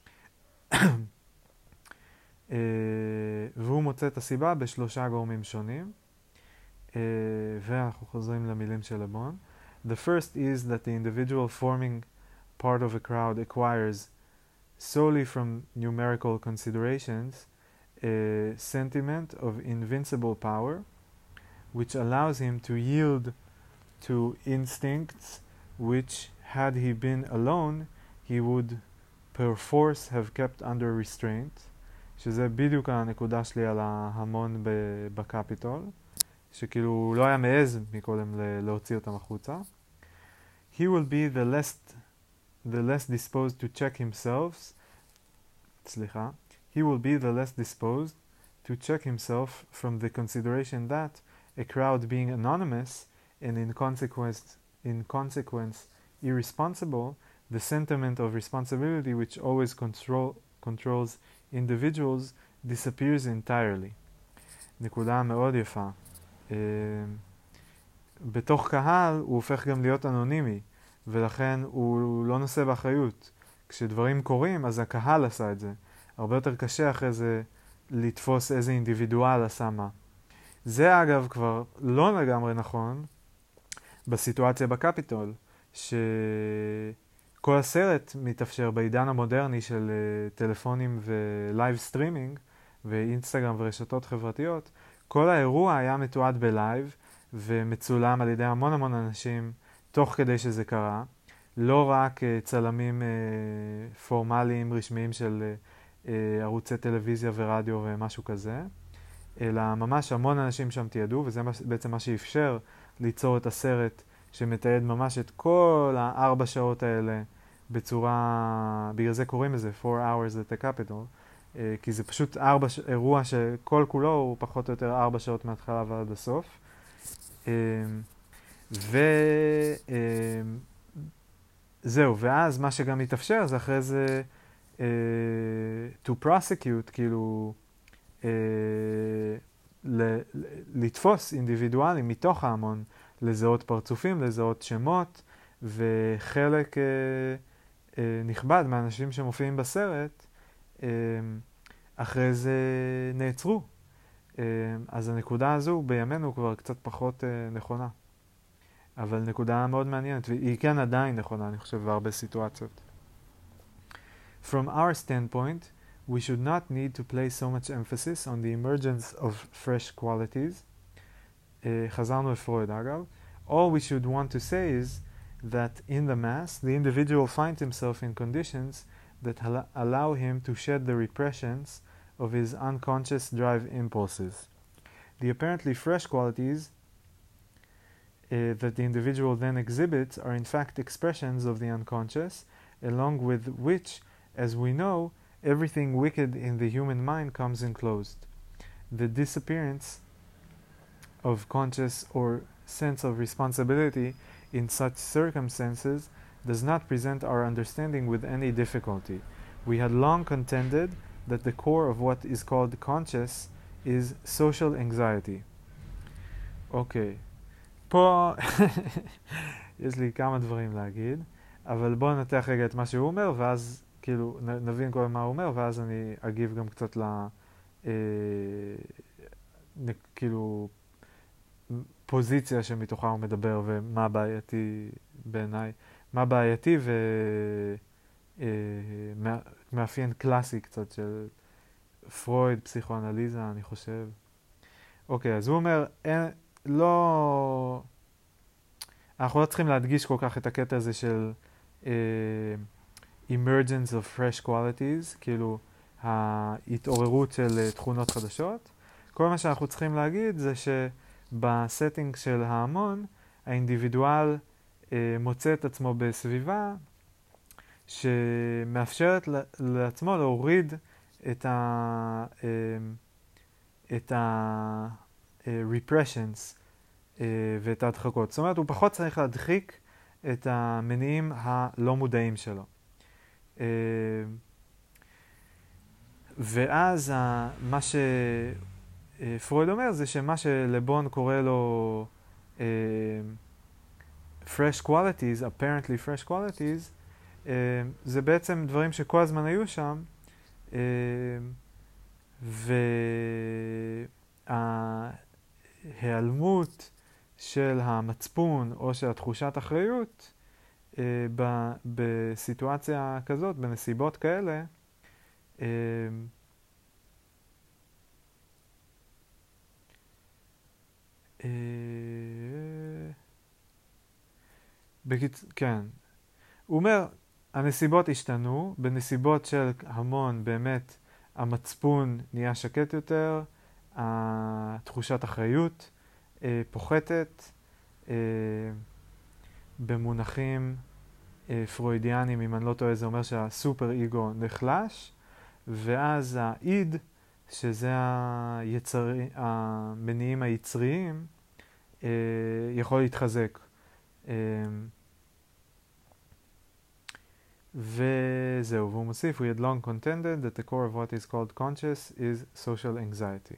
אה, והוא מוצא את הסיבה בשלושה גורמים שונים, אה, ואנחנו חוזרים למילים של לבון. The first is that the individual forming part of a crowd acquires solely from numerical considerations a sentiment of invincible power, which allows him to yield to instincts which, had he been alone, he would perforce have kept under restraint, שזה בדיוק הנקודה שלי על ההמון בקפיטול, שכאילו הוא לא היה מעז מקודם להוציא אותם החוצה. He will be the less, the less disposed to check himself, סליחה, he will be the less disposed to check himself from the consideration that, a crowd being anonymous and in consequence, in consequence irresponsible, the sentiment of responsibility which always control, controls individuals disappears entirely. נקודה מאוד יפה. Uh, בתוך קהל הוא הופך גם להיות אנונימי, ולכן הוא לא נושא באחריות. כשדברים קורים, אז הקהל עשה את זה. הרבה יותר קשה אחרי זה לתפוס איזה אינדיבידואל עשה מה. זה אגב כבר לא לגמרי נכון בסיטואציה בקפיטול, שכל הסרט מתאפשר בעידן המודרני של uh, טלפונים ולייב סטרימינג ואינסטגרם ורשתות חברתיות. כל האירוע היה מתועד בלייב ומצולם על ידי המון המון אנשים תוך כדי שזה קרה. לא רק uh, צלמים uh, פורמליים רשמיים של uh, ערוצי טלוויזיה ורדיו ומשהו כזה, אלא ממש המון אנשים שם תיעדו, וזה בעצם מה שאפשר ליצור את הסרט שמתעד ממש את כל הארבע שעות האלה בצורה, בגלל זה קוראים לזה four hours at the Capitol, כי זה פשוט ארבע, אירוע שכל כולו הוא פחות או יותר ארבע שעות מההתחלה ועד הסוף. וזהו, ואז מה שגם מתאפשר זה אחרי זה uh, to prosecute, כאילו uh, ל- לתפוס אינדיבידואלים מתוך ההמון, לזהות פרצופים, לזהות שמות, וחלק uh, uh, נכבד מהאנשים שמופיעים בסרט uh, אחרי זה נעצרו. Uh, אז הנקודה הזו בימינו כבר קצת פחות uh, נכונה. אבל נקודה מאוד מעניינת, והיא כן עדיין נכונה, אני חושב, בהרבה סיטואציות. From our standpoint, we should not need to place so much emphasis on the emergence of fresh qualities. Uh, חזרנו לפרויד, אגב. All we should want to say is that in the mass, the individual finds himself in conditions that allow him to shed the repressions of his unconscious drive impulses. The apparently fresh qualities Uh, that the individual then exhibits are in fact expressions of the unconscious, along with which, as we know, everything wicked in the human mind comes enclosed. The disappearance of conscious or sense of responsibility in such circumstances does not present our understanding with any difficulty. We had long contended that the core of what is called conscious is social anxiety. Okay. פה יש לי כמה דברים להגיד, אבל בואו נתח רגע את מה שהוא אומר, ואז כאילו נבין כל מה הוא אומר, ואז אני אגיב גם קצת ל... אה, נ, כאילו פוזיציה שמתוכה הוא מדבר, ומה בעייתי בעיניי, מה בעייתי ומאפיין קלאסי קצת של פרויד, פסיכואנליזה, אני חושב. אוקיי, אז הוא אומר, אין... לא... אנחנו לא צריכים להדגיש כל כך את הקטע הזה של uh, emergence of fresh qualities, כאילו ההתעוררות של uh, תכונות חדשות. כל מה שאנחנו צריכים להגיד זה שבסטינג של ההמון, האינדיבידואל uh, מוצא את עצמו בסביבה שמאפשרת לעצמו להוריד את ה... Uh, את ה-repressions ואת ההדחקות. זאת אומרת, הוא פחות צריך להדחיק את המניעים הלא מודעים שלו. ואז מה שפרויד אומר זה שמה שלבון קורא לו fresh qualities, apparently fresh qualities, זה בעצם דברים שכל הזמן היו שם, וההיעלמות של המצפון או של התחושת אחריות בסיטואציה כזאת, בנסיבות כאלה, בקיצ... כן. הוא אומר, הנסיבות השתנו, בנסיבות של המון באמת המצפון נהיה שקט יותר, התחושת אחריות אה, פוחתת, אה, במונחים אה, פרוידיאנים, אם אני לא טועה, זה אומר שהסופר איגו נחלש, ואז האיד, שזה היצר... המניעים היצריים, אה, יכול להתחזק. אה, וזהו, והוא מוסיף, we had long contended that the core of what is called conscious is social anxiety.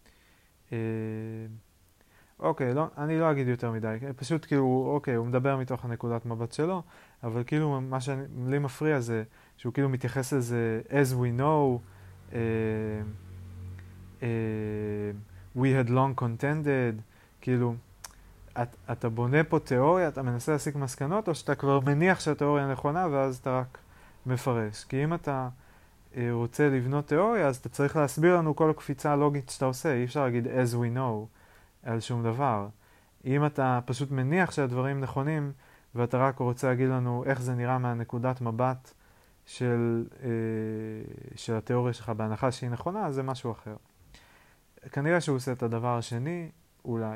אוקיי, לא, אני לא אגיד יותר מדי, פשוט כאילו, אוקיי, הוא מדבר מתוך הנקודת מבט שלו, אבל כאילו מה שלי מפריע זה שהוא כאילו מתייחס לזה as we know, uh, uh, we had long contended, כאילו, את, אתה בונה פה תיאוריה, אתה מנסה להסיק מסקנות, או שאתה כבר מניח שהתיאוריה נכונה, ואז אתה רק מפרש. כי אם אתה אה, רוצה לבנות תיאוריה, אז אתה צריך להסביר לנו כל הקפיצה הלוגית שאתה עושה. אי אפשר להגיד as we know על שום דבר. אם אתה פשוט מניח שהדברים נכונים, ואתה רק רוצה להגיד לנו איך זה נראה מהנקודת מבט של, אה, של התיאוריה שלך, בהנחה שהיא נכונה, אז זה משהו אחר. כנראה שהוא עושה את הדבר השני, אולי.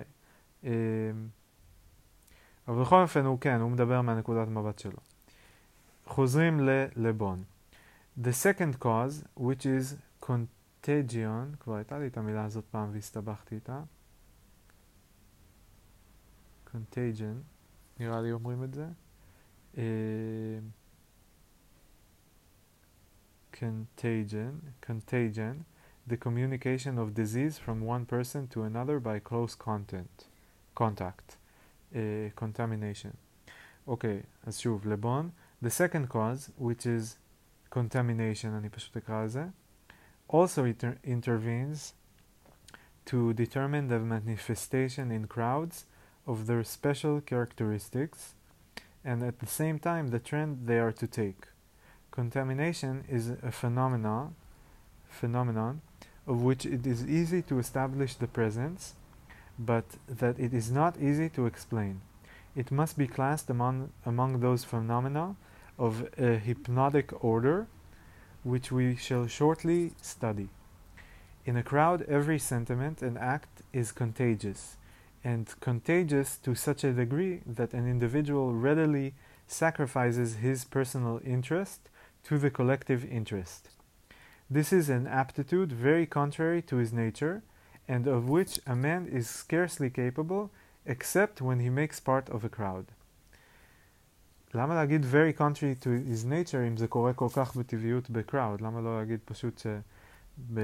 אבל בכל אופן הוא כן, הוא מדבר מהנקודת מבט שלו. חוזרים ללבון. The second cause, which is contagion, כבר הייתה לי את המילה הזאת פעם והסתבכתי איתה. contagion, נראה לי אומרים את זה. contagion, contagion, the communication of disease from one person to another by close contact. contact, uh, contamination. Okay, אז שוב, לבון. The second cause, which is contamination, אני פשוט אקרא על זה, also inter- intervenes to determine the manifestation in crowds of their special characteristics and at the same time the trend they are to take. Contamination is a phenomenon, phenomenon of which it is easy to establish the presence, but that it is not easy to explain. It must be classed among, among those phenomena of a hypnotic order, which we shall shortly study. In a crowd, every sentiment and act is contagious, and contagious to such a degree that an individual readily sacrifices his personal interest to the collective interest. This is an aptitude very contrary to his nature, and of which a man is scarcely capable, except when he makes part of a crowd. למה להגיד very contrary to his nature אם זה קורה כל כך בטבעיות ב-crowd? למה לא להגיד פשוט שב...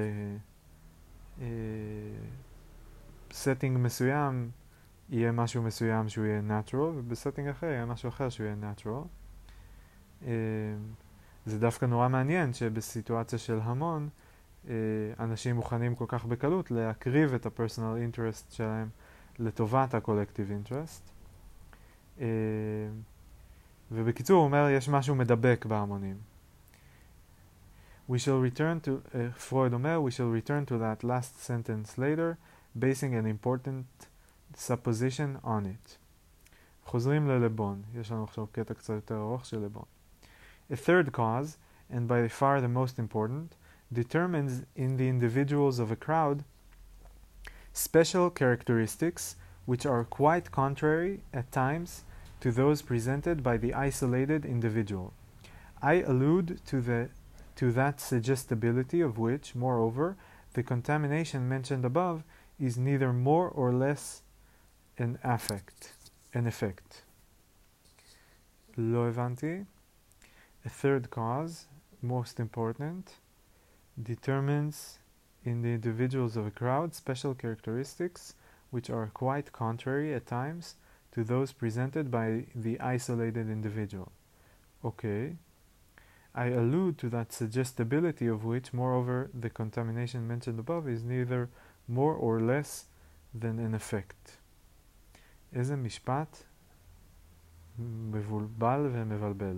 setting מסוים יהיה משהו מסוים שהוא יהיה natural, ובסטינג אחר יהיה משהו אחר שהוא יהיה natural. זה דווקא נורא מעניין שבסיטואציה של המון, אנשים מוכנים כל כך בקלות להקריב את ה-personal interest שלהם לטובת ה-collective interest. ובקיצור הוא אומר, יש משהו מדבק בהמונים. We shall return to, uh, פרויד אומר, we shall return to that last sentence later, basing an important supposition on it. חוזרים ללבון. יש לנו עכשיו קטע קצת יותר ארוך של לבון. A third cause, and by far the most important, determines in the individuals of a crowd special characteristics which are quite contrary at times to those presented by the isolated individual. I allude to the to that suggestibility of which, moreover, the contamination mentioned above is neither more or less an affect, an effect. לא הבנתי. A third cause, most important, determines in the individuals of a crowd special characteristics which are quite contrary at times to those presented by the isolated individual. Okay. I allude to that suggestibility of which, moreover, the contamination mentioned above is neither more or less than an effect. איזה משפט מבולבל ומבלבל.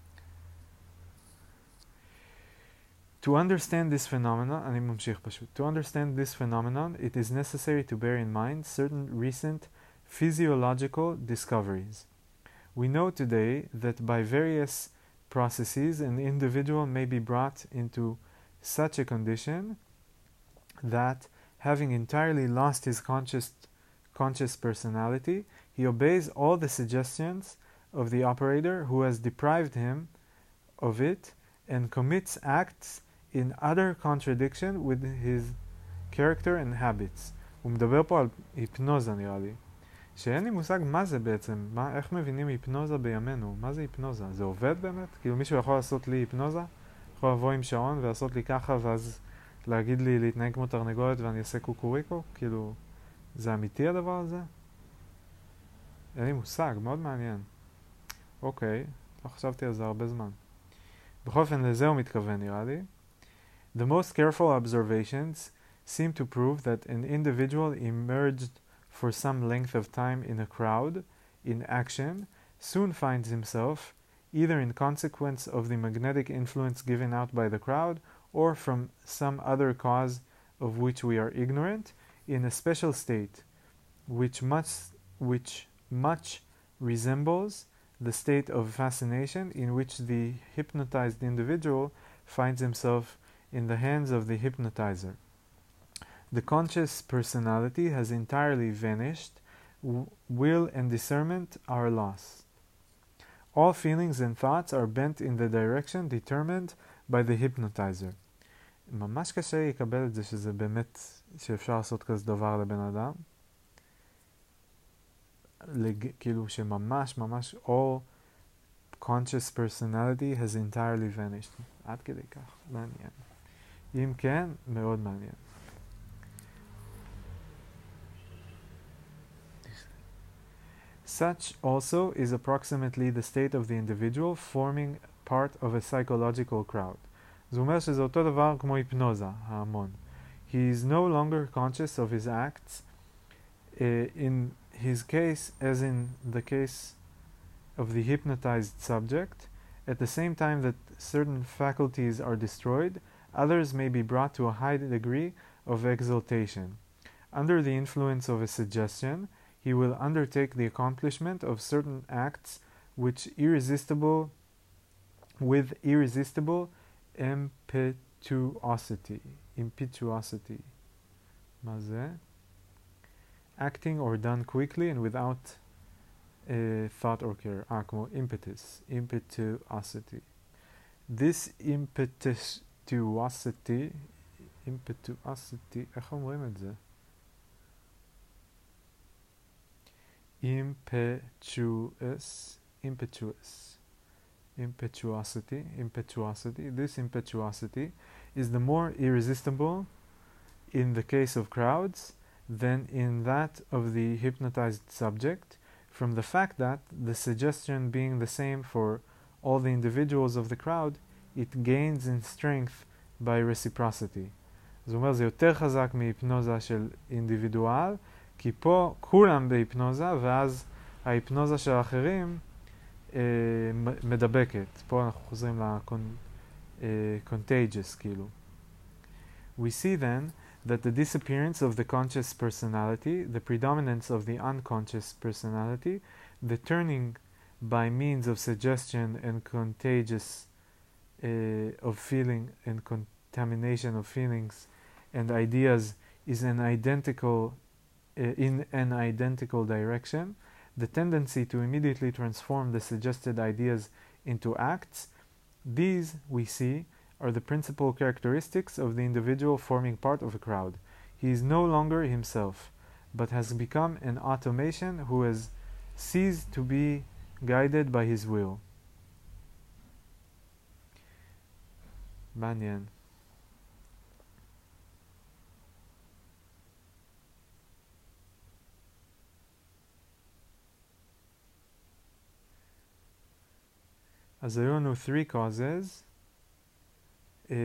To understand this phenomenon, אני ממשיך פשוט. To understand this phenomenon, it is necessary to bear in mind certain recent physiological discoveries. We know today that by various processes, an individual may be brought into such a condition that, having entirely lost his conscious, conscious personality, he obeys all the suggestions of the operator who has deprived him of it and commits acts in utter contradiction with his character and habits. הוא מדבר פה על היפנוזה נראה לי. שאין לי מושג מה זה בעצם, מה, איך מבינים היפנוזה בימינו, מה זה היפנוזה? זה עובד באמת? כאילו מישהו יכול לעשות לי היפנוזה? יכול לבוא עם שעון ולעשות לי ככה ואז להגיד לי להתנהג כמו תרנגולת ואני אעשה קוקוריקו? כאילו, זה אמיתי הדבר הזה? אין לי מושג, מאוד מעניין. אוקיי, לא חשבתי על זה הרבה זמן. בכל אופן, לזה הוא מתכוון נראה לי. The most careful observations seem to prove that an individual emerged for some length of time in a crowd, in action, soon finds himself, either in consequence of the magnetic influence given out by the crowd, or from some other cause of which we are ignorant, in a special state, which much, which much resembles the state of fascination in which the hypnotized individual finds himself in the hands of the hypnotizer. The conscious personality has entirely vanished, w- will and discernment are lost. All feelings and thoughts are bent in the direction determined by the hypnotizer. ממש קשה לקבל את זה שזה באמת, שאפשר לעשות כזה דבר לבן אדם. לג... כאילו שממש ממש all conscious personality has entirely vanished. עד כדי כך, מעניין. אם כן, מאוד מעניין. Such also is approximately the state of the individual forming part of a psychological crowd. זה אומר שזה אותו דבר כמו היפנוזה, ההמון. He is no longer conscious of his acts uh, in his case as in the case of the hypnotized subject. At the same time that certain faculties are destroyed, others may be brought to a high degree of exaltation. Under the influence of a suggestion, he will undertake the accomplishment of certain acts which irresistible, with irresistible impetuosity. Impetuosity. מה זה? Acting or done quickly and without uh, thought or care. Ah, כמו impetus. Impetuosity. This impetuosity, impetuosity, איך אומרים את זה? impetuous, impetuous, impetuosity, impetuosity. This impetuosity is the more irresistible in the case of crowds than in that of the hypnotized subject, from the fact that, the suggestion being the same for all the individuals of the crowd, it gains in strength by reciprocity. זאת אומרת, זה יותר חזק מהיפנוזה של אינדיבידואל, כי פה כולם בהיפנוזה, ואז ההיפנוזה של האחרים אה, מדבקת. פה אנחנו חוזרים ל-contagious, כאילו. We see then that the disappearance of the conscious personality, the predominance of the unconscious personality, the turning by means of suggestion and contagious uh, of feeling and contamination of feelings and ideas is an identical uh, in an identical direction. The tendency to immediately transform the suggested ideas into acts, these, we see, are the principal characteristics of the individual forming part of a crowd. He is no longer himself, but has become an automation who has ceased to be guided by his will. מעניין. אז היו לנו three causes. Uh,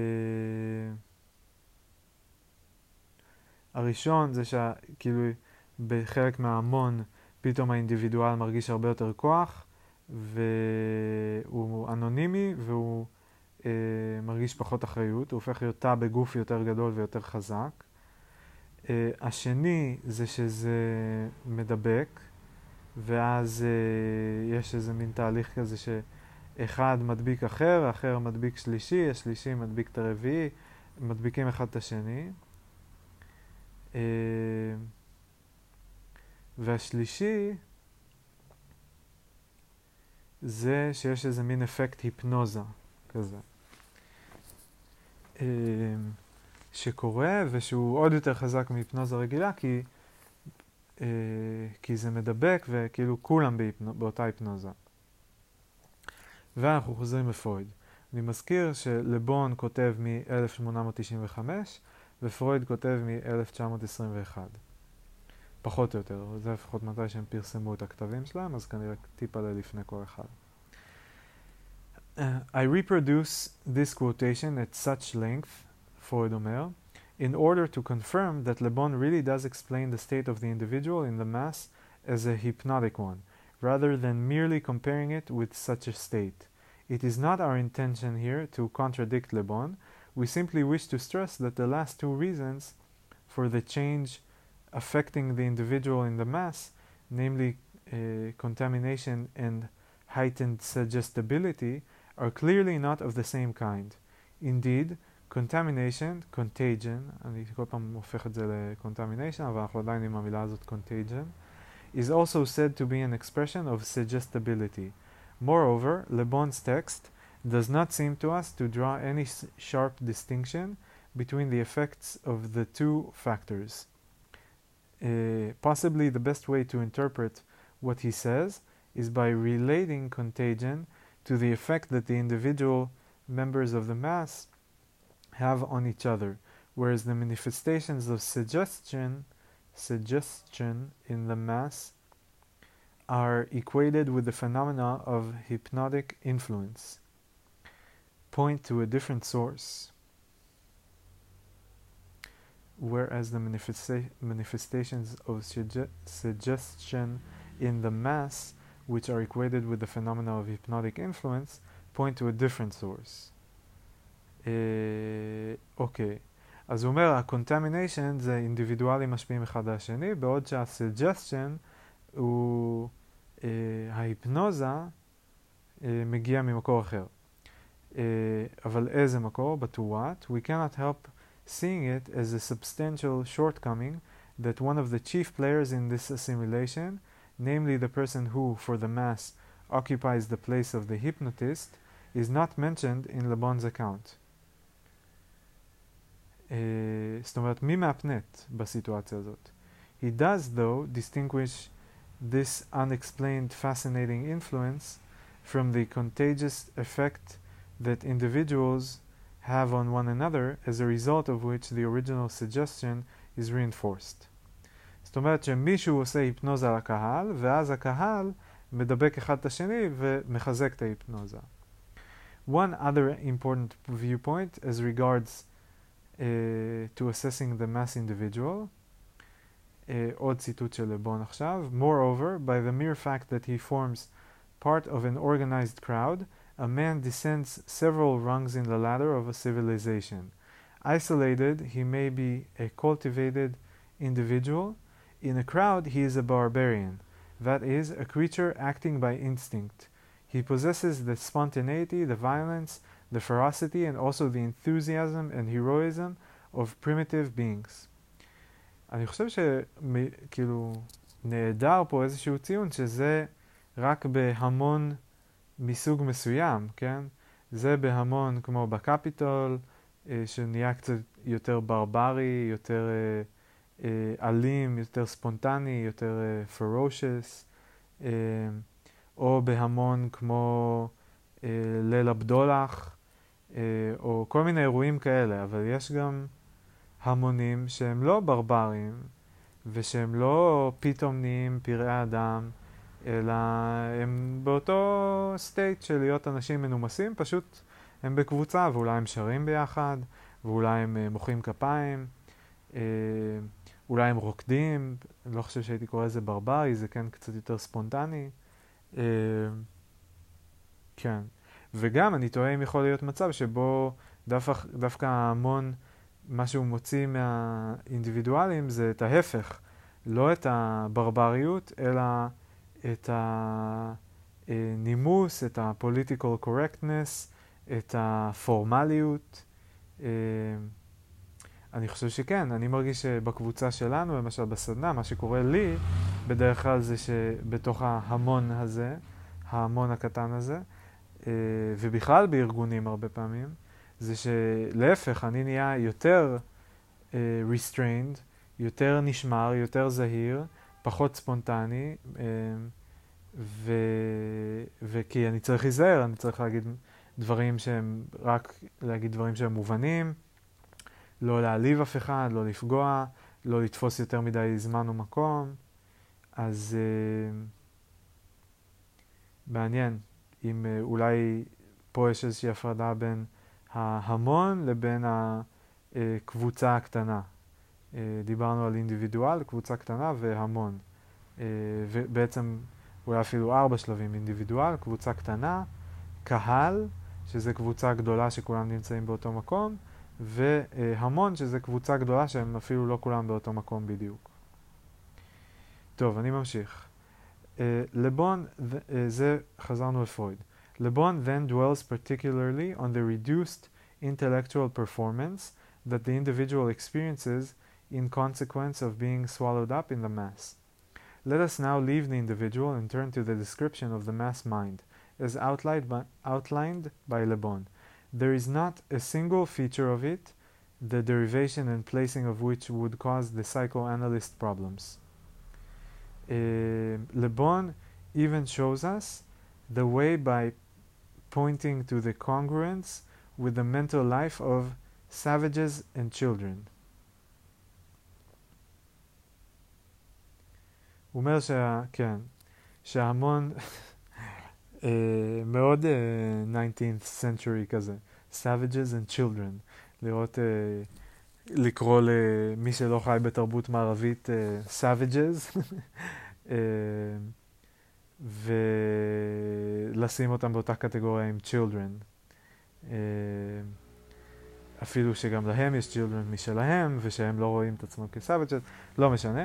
הראשון זה שכאילו בחלק מההמון פתאום האינדיבידואל מרגיש הרבה יותר כוח והוא אנונימי והוא uh, מרגיש פחות אחריות, הוא הופך להיות תא בגוף יותר גדול ויותר חזק. Uh, השני זה שזה מדבק ואז uh, יש איזה מין תהליך כזה ש אחד מדביק אחר, האחר מדביק שלישי, השלישי מדביק את הרביעי, מדביקים אחד את השני. והשלישי זה שיש איזה מין אפקט היפנוזה כזה. שקורה ושהוא עוד יותר חזק מהיפנוזה רגילה כי, כי זה מדבק וכאילו כולם בהיפנו, באותה היפנוזה. ואנחנו חוזרים לפרויד. אני מזכיר שלבון כותב מ-אלף שמונה מאות תשעים וחמש ופרויד כותב מ-אלף תשע מאות עשרים ואחת. פחות או יותר, זה לפחות מתי שהם פרסמו את הכתבים שלהם, אז כנראה טיפה לפני כל אחד. Uh, I reproduce this quotation at such length, פרויד אומר, in order to confirm that Le Bon really does explain the state of the individual in the mass as a hypnotic one, rather than merely comparing it with such a state. It is not our intention here to contradict Le Bon. We simply wish to stress that the last two reasons for the change affecting the individual in the mass, namely uh, contamination and heightened suggestibility, are clearly not of the same kind. Indeed, contamination, contagion, אני כל פעם הופך את זה ל-contamination, אבל אנחנו עדיין עם המילה הזאת contagion, is also said to be an expression of suggestibility. Moreover, Le Bon's text does not seem to us to draw any sharp distinction between the effects of the two factors. Uh, possibly the best way to interpret what he says is by relating contagion to the effect that the individual members of the mass have on each other, whereas the manifestations of suggestion suggestion in the mass are equated with the phenomena of hypnotic influence. Point to a different source. Whereas the manifesta- manifestations of suge- suggestion in the mass, which are equated with the phenomena of hypnotic influence, point to a different source. אוקיי. Uh, אז הוא אומר, ה-contamination זה אינדיבידואלים משפיעים אחד על השני, בעוד שה-suggestion הוא, uh, ההיפנוזה uh, מגיע ממקור אחר. Uh, אבל איזה מקור? But to what? We cannot help seeing it as a substantial shortcoming that one of the chief players in this assimilation, namely the person who, for the mass, occupies the place of the hypnotist, is not mentioned in Le Bon's account. Uh, זאת אומרת, מי מאפנט בסיטואציה הזאת? He does, though, distinguish this unexplained fascinating influence from the contagious effect that individuals have on one another, as a result of which the original suggestion is reinforced. זאת אומרת שמישהו עושה היפנוזה לקהל, ואז הקהל מדבק אחד את השני ומחזק את ההיפנוזה. One other important viewpoint as regards uh, to assessing the mass individual, uh, עוד ציטוט של לבון עכשיו, moreover, by the mere fact that he forms part of an organized crowd, a man descends several rungs in the ladder of a civilization. Isolated, he may be a cultivated individual. In a crowd, he is a barbarian, that is, a creature acting by instinct. He possesses the spontaneity, the violence, the ferocity, and also the enthusiasm and heroism of primitive beings. אני חושב שכאילו נהדר פה איזשהו ציון שזה רק בהמון מסוג מסוים, כן? זה בהמון כמו בקפיטול, אה, שנהיה קצת יותר ברברי, יותר אה, אה, אלים, יותר ספונטני, יותר אה, ferocious, אה, או בהמון כמו אה, ליל הבדולח, אה, או כל מיני אירועים כאלה, אבל יש גם המונים שהם לא ברברים, ושהם לא פתאום נהיים פראי אדם, אלא הם באותו סטייט של להיות אנשים מנומסים, פשוט הם בקבוצה, ואולי הם שרים ביחד, ואולי הם uh, מוחאים כפיים, uh, אולי הם רוקדים, אני לא חושב שהייתי קורא לזה ברברי, זה כן קצת יותר ספונטני. Uh, כן. וגם אני תוהה אם יכול להיות מצב שבו דווקא, דווקא ההמון, מה שהוא מוציא מהאינדיבידואלים זה את ההפך, לא את הברבריות, אלא את הנימוס, את ה-political correctness, את הפורמליות. אני חושב שכן, אני מרגיש שבקבוצה שלנו, למשל בסדנה, מה שקורה לי בדרך כלל זה שבתוך ההמון הזה, ההמון הקטן הזה, ובכלל בארגונים הרבה פעמים, זה שלהפך, אני נהיה יותר uh, restrained, יותר נשמר, יותר זהיר, פחות ספונטני, uh, ו... וכי אני צריך להיזהר, אני צריך להגיד דברים שהם, רק להגיד דברים שהם מובנים, לא להעליב אף אחד, לא לפגוע, לא לתפוס יותר מדי זמן ומקום. אז uh, מעניין, אם uh, אולי פה יש איזושהי הפרדה בין ההמון לבין הקבוצה הקטנה. דיברנו על אינדיבידואל, קבוצה קטנה והמון. ובעצם אולי אפילו ארבע שלבים, אינדיבידואל, קבוצה קטנה, קהל, שזה קבוצה גדולה שכולם נמצאים באותו מקום, והמון, שזה קבוצה גדולה שהם אפילו לא כולם באותו מקום בדיוק. טוב, אני ממשיך. לבון, זה חזרנו לפרויד. Le Bon then dwells particularly on the reduced intellectual performance that the individual experiences in consequence of being swallowed up in the mass. Let us now leave the individual and turn to the description of the mass mind, as outlined by, outlined by Le Bon. There is not a single feature of it, the derivation and placing of which would cause the psychoanalyst problems. Uh, Le Bon even shows us the way by pointing to the congruence with the mental life of savages and children. הוא אומר שה... כן, שההמון מאוד nineteenth century כזה, savages and children, לראות, לקרוא למי שלא חי בתרבות מערבית savages, ולשים אותם באותה קטגוריה עם children. אפילו שגם להם יש children משלהם, ושהם לא רואים את עצמם כ-savages, לא משנה.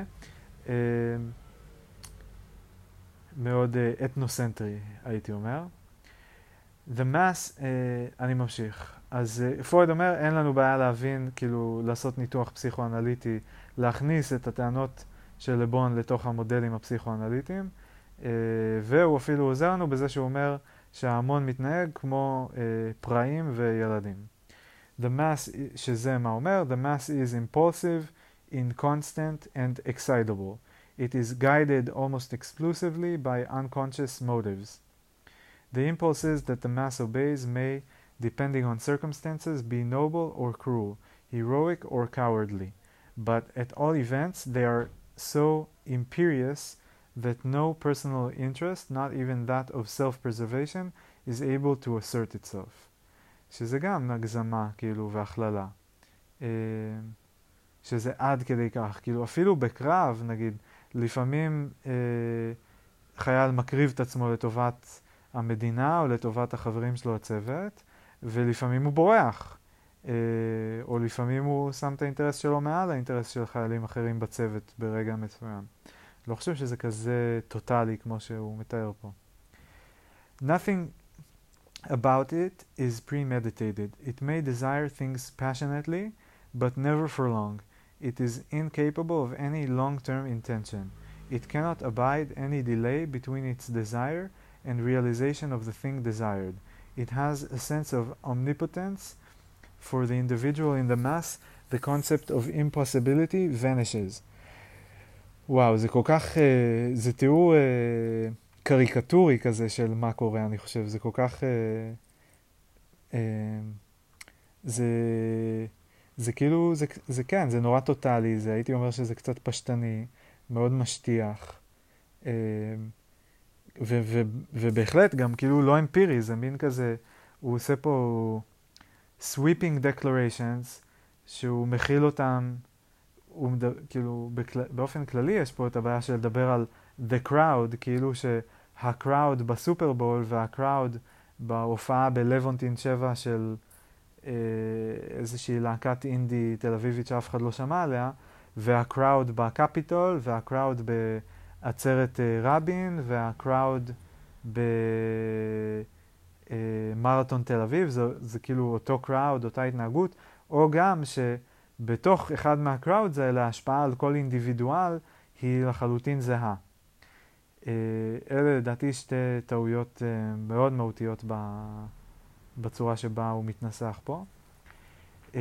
מאוד אתנוסנטרי, הייתי אומר. The mass, אני ממשיך. אז פרויד אומר, אין לנו בעיה להבין, כאילו, לעשות ניתוח פסיכואנליטי, להכניס את הטענות של לבון לתוך המודלים הפסיכואנליטיים, והוא אפילו עוזר לנו בזה שהוא אומר שההמון מתנהג כמו פראים וילדים. The mass, שזה מה אומר, the mass is impulsive, inconstant and excitable. It is guided almost exclusively by unconscious motives. The impulses that the mass obeys may, depending on circumstances, be noble or cruel, heroic or cowardly, but at all events they are so imperious that no personal interest, not even that of self-preservation, is able to assert itself. שזה גם הגזמה, כאילו, והכללה. שזה עד כדי כך. כאילו, אפילו בקרב, נגיד, לפעמים אה, חייל מקריב את עצמו לטובת המדינה או לטובת החברים שלו הצוות, ולפעמים הוא בורח. אה, או לפעמים הוא שם את האינטרס שלו מעל האינטרס של חיילים אחרים בצוות ברגע מסוים. לא חושב שזה כזה טוטלי כמו שהוא מתאר פה. Nothing about it is premeditated. It may desire things passionately, but never for long. It is incapable of any long-term intention. It cannot abide any delay between its desire and realization of the thing desired. it has a sense of omnipotence. For the individual in the mass, the concept of impossibility vanishes. וואו, זה כל כך, זה תיאור קריקטורי כזה של מה קורה, אני חושב. זה כל כך, זה, זה כאילו, זה, זה כן, זה נורא טוטלי, זה, הייתי אומר שזה קצת פשטני, מאוד משטיח. ו, ו, ובהחלט גם כאילו לא אמפירי, זה מין כזה, הוא עושה פה sweeping declarations, שהוא מכיל אותם, הוא מדבר, כאילו בכל, באופן כללי יש פה את הבעיה של לדבר על the crowd, כאילו שהcrowd בסופרבול והcrowd בהופעה בלוונטין שבע של אה, איזושהי להקת אינדי תל אביבית שאף אחד לא שמע עליה, והcrowd בקפיטול, והcrowd בעצרת אה, רבין, והcrowd במרתון תל אביב, זה, זה כאילו אותו crowd, אותה התנהגות, או גם שבתוך אחד מהcrowds האלה ההשפעה על כל אינדיבידואל היא לחלוטין זהה. אה, אלה לדעתי שתי טעויות אה, מאוד מהותיות ב, בצורה שבה הוא מתנסח פה. אה,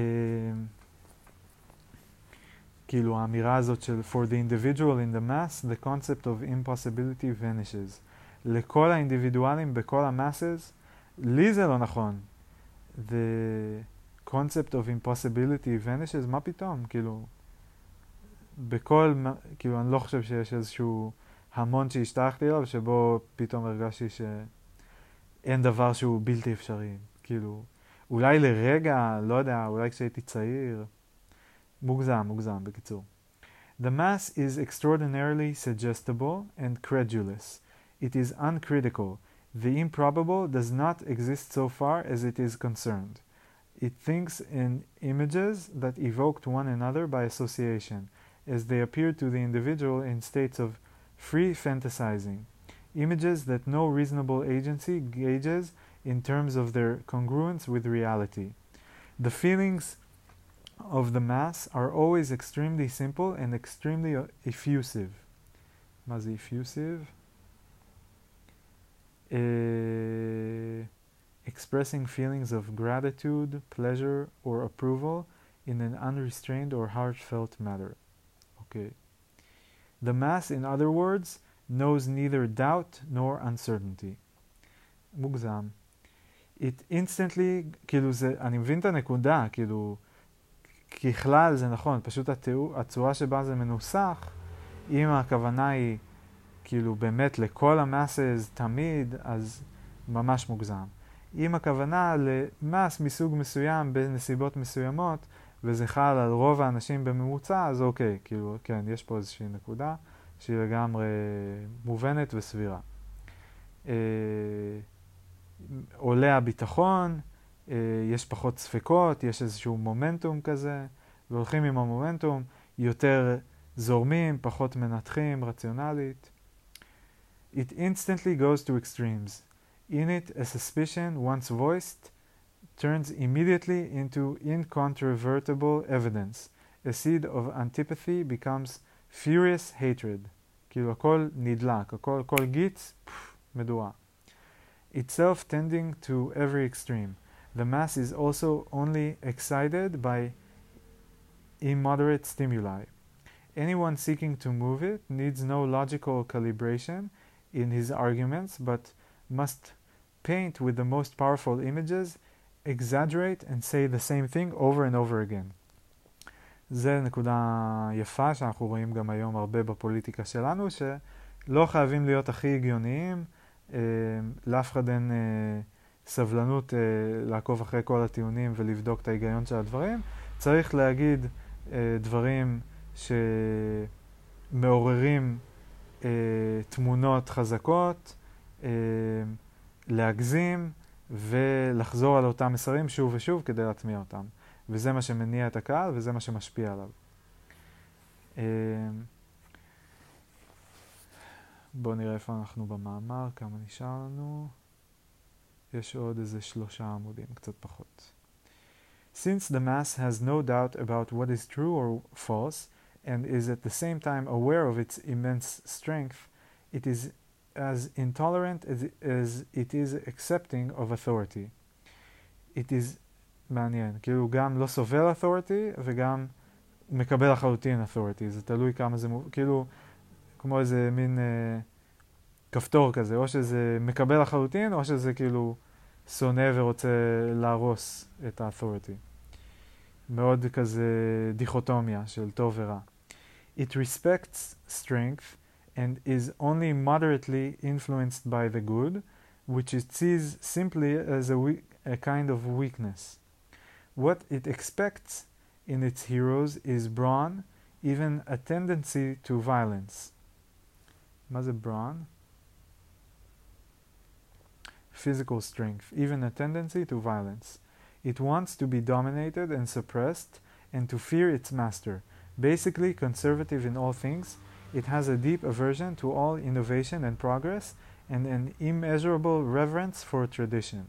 כאילו האמירה הזאת של for the individual in the mass, the concept of impossibility vanishes. לכל האינדיבידואלים בכל המאסס, לי זה לא נכון. The concept of impossibility vanishes, מה פתאום? כאילו, בכל, כאילו אני לא חושב שיש איזשהו המון שהשתייכתי אליו, שבו פתאום הרגשתי שאין דבר שהוא בלתי אפשרי. כאילו, אולי לרגע, לא יודע, אולי כשהייתי צעיר, מוגזם, מוגזם, בקיצור. The mass is extraordinarily suggestible and credulous. It is uncritical. The improbable does not exist so far as it is concerned. It thinks in images that evoked one another by association, as they appear to the individual in states of free fantasizing. Images that no reasonable agency gauges in terms of their congruence with reality. The feelings of the mass are always extremely simple and extremely effusive. מה זה effusive? Uh, expressing feelings of gratitude, pleasure, or approval in an unrestrained or heartfelt manner. Okay. The mass, in other words, knows neither doubt nor uncertainty. מוגזם. It instantly, כאילו זה, אני מבין את הנקודה, כאילו, ככלל זה נכון, פשוט התיאור, הצורה שבה זה מנוסח, אם הכוונה היא כאילו באמת לכל המאסס תמיד, אז ממש מוגזם. אם הכוונה למאס מסוג מסוים בנסיבות מסוימות, וזה חל על רוב האנשים בממוצע, אז אוקיי, כאילו, כן, יש פה איזושהי נקודה שהיא לגמרי מובנת וסבירה. אה, עולה הביטחון, אה, יש פחות ספקות, יש איזשהו מומנטום כזה, והולכים עם המומנטום, יותר זורמים, פחות מנתחים, רציונלית. It instantly goes to extremes. In it, a suspicion, once voiced, turns immediately into incontrovertible evidence. A seed of antipathy becomes furious hatred. כאילו הכל נדלק, הכל, כל גיץ, פff, מדורה. Itself tending to every extreme. The mass is also only excited by immoderate stimuli. Anyone seeking to move it needs no logical calibration in his arguments, but must paint with the most powerful images, exaggerate and say the same thing over and over again. זה נקודה יפה שאנחנו רואים גם היום הרבה בפוליטיקה שלנו, שלא חייבים להיות הכי הגיוניים, אה, לאף אחד אין אה, סבלנות אה, לעקוב אחרי כל הטיעונים ולבדוק את ההיגיון של הדברים. צריך להגיד אה, דברים שמעוררים אה, תמונות חזקות, אה, להגזים ולחזור על אותם מסרים שוב ושוב כדי להטמיע אותם. וזה מה שמניע את הקהל וזה מה שמשפיע עליו. אה, בואו נראה איפה אנחנו במאמר, כמה נשאר לנו. יש עוד איזה שלושה עמודים, קצת פחות. Since the mass has no doubt about what is true or false, and is at the same time aware of its immense strength, it is as intolerant as, as it is accepting of authority. It is מעניין, כאילו גם לא סובל authority וגם מקבל לחלוטין authority, זה תלוי כמה זה, כאילו כמו איזה מין אה, כפתור כזה, או שזה מקבל לחלוטין או שזה כאילו שונא ורוצה להרוס את ה-authority. מאוד כזה דיכוטומיה של טוב ורע. It respects strength and is only moderately influenced by the good, which it sees simply as a, we- a kind of weakness. What it expects in its heroes is brawn, even a tendency to violence. מה זה brawn? Physical strength, even a tendency to violence. It wants to be dominated and suppressed and to fear its master. Basically conservative in all things, it has a deep aversion to all innovation and progress and an immeasurable reverence for tradition.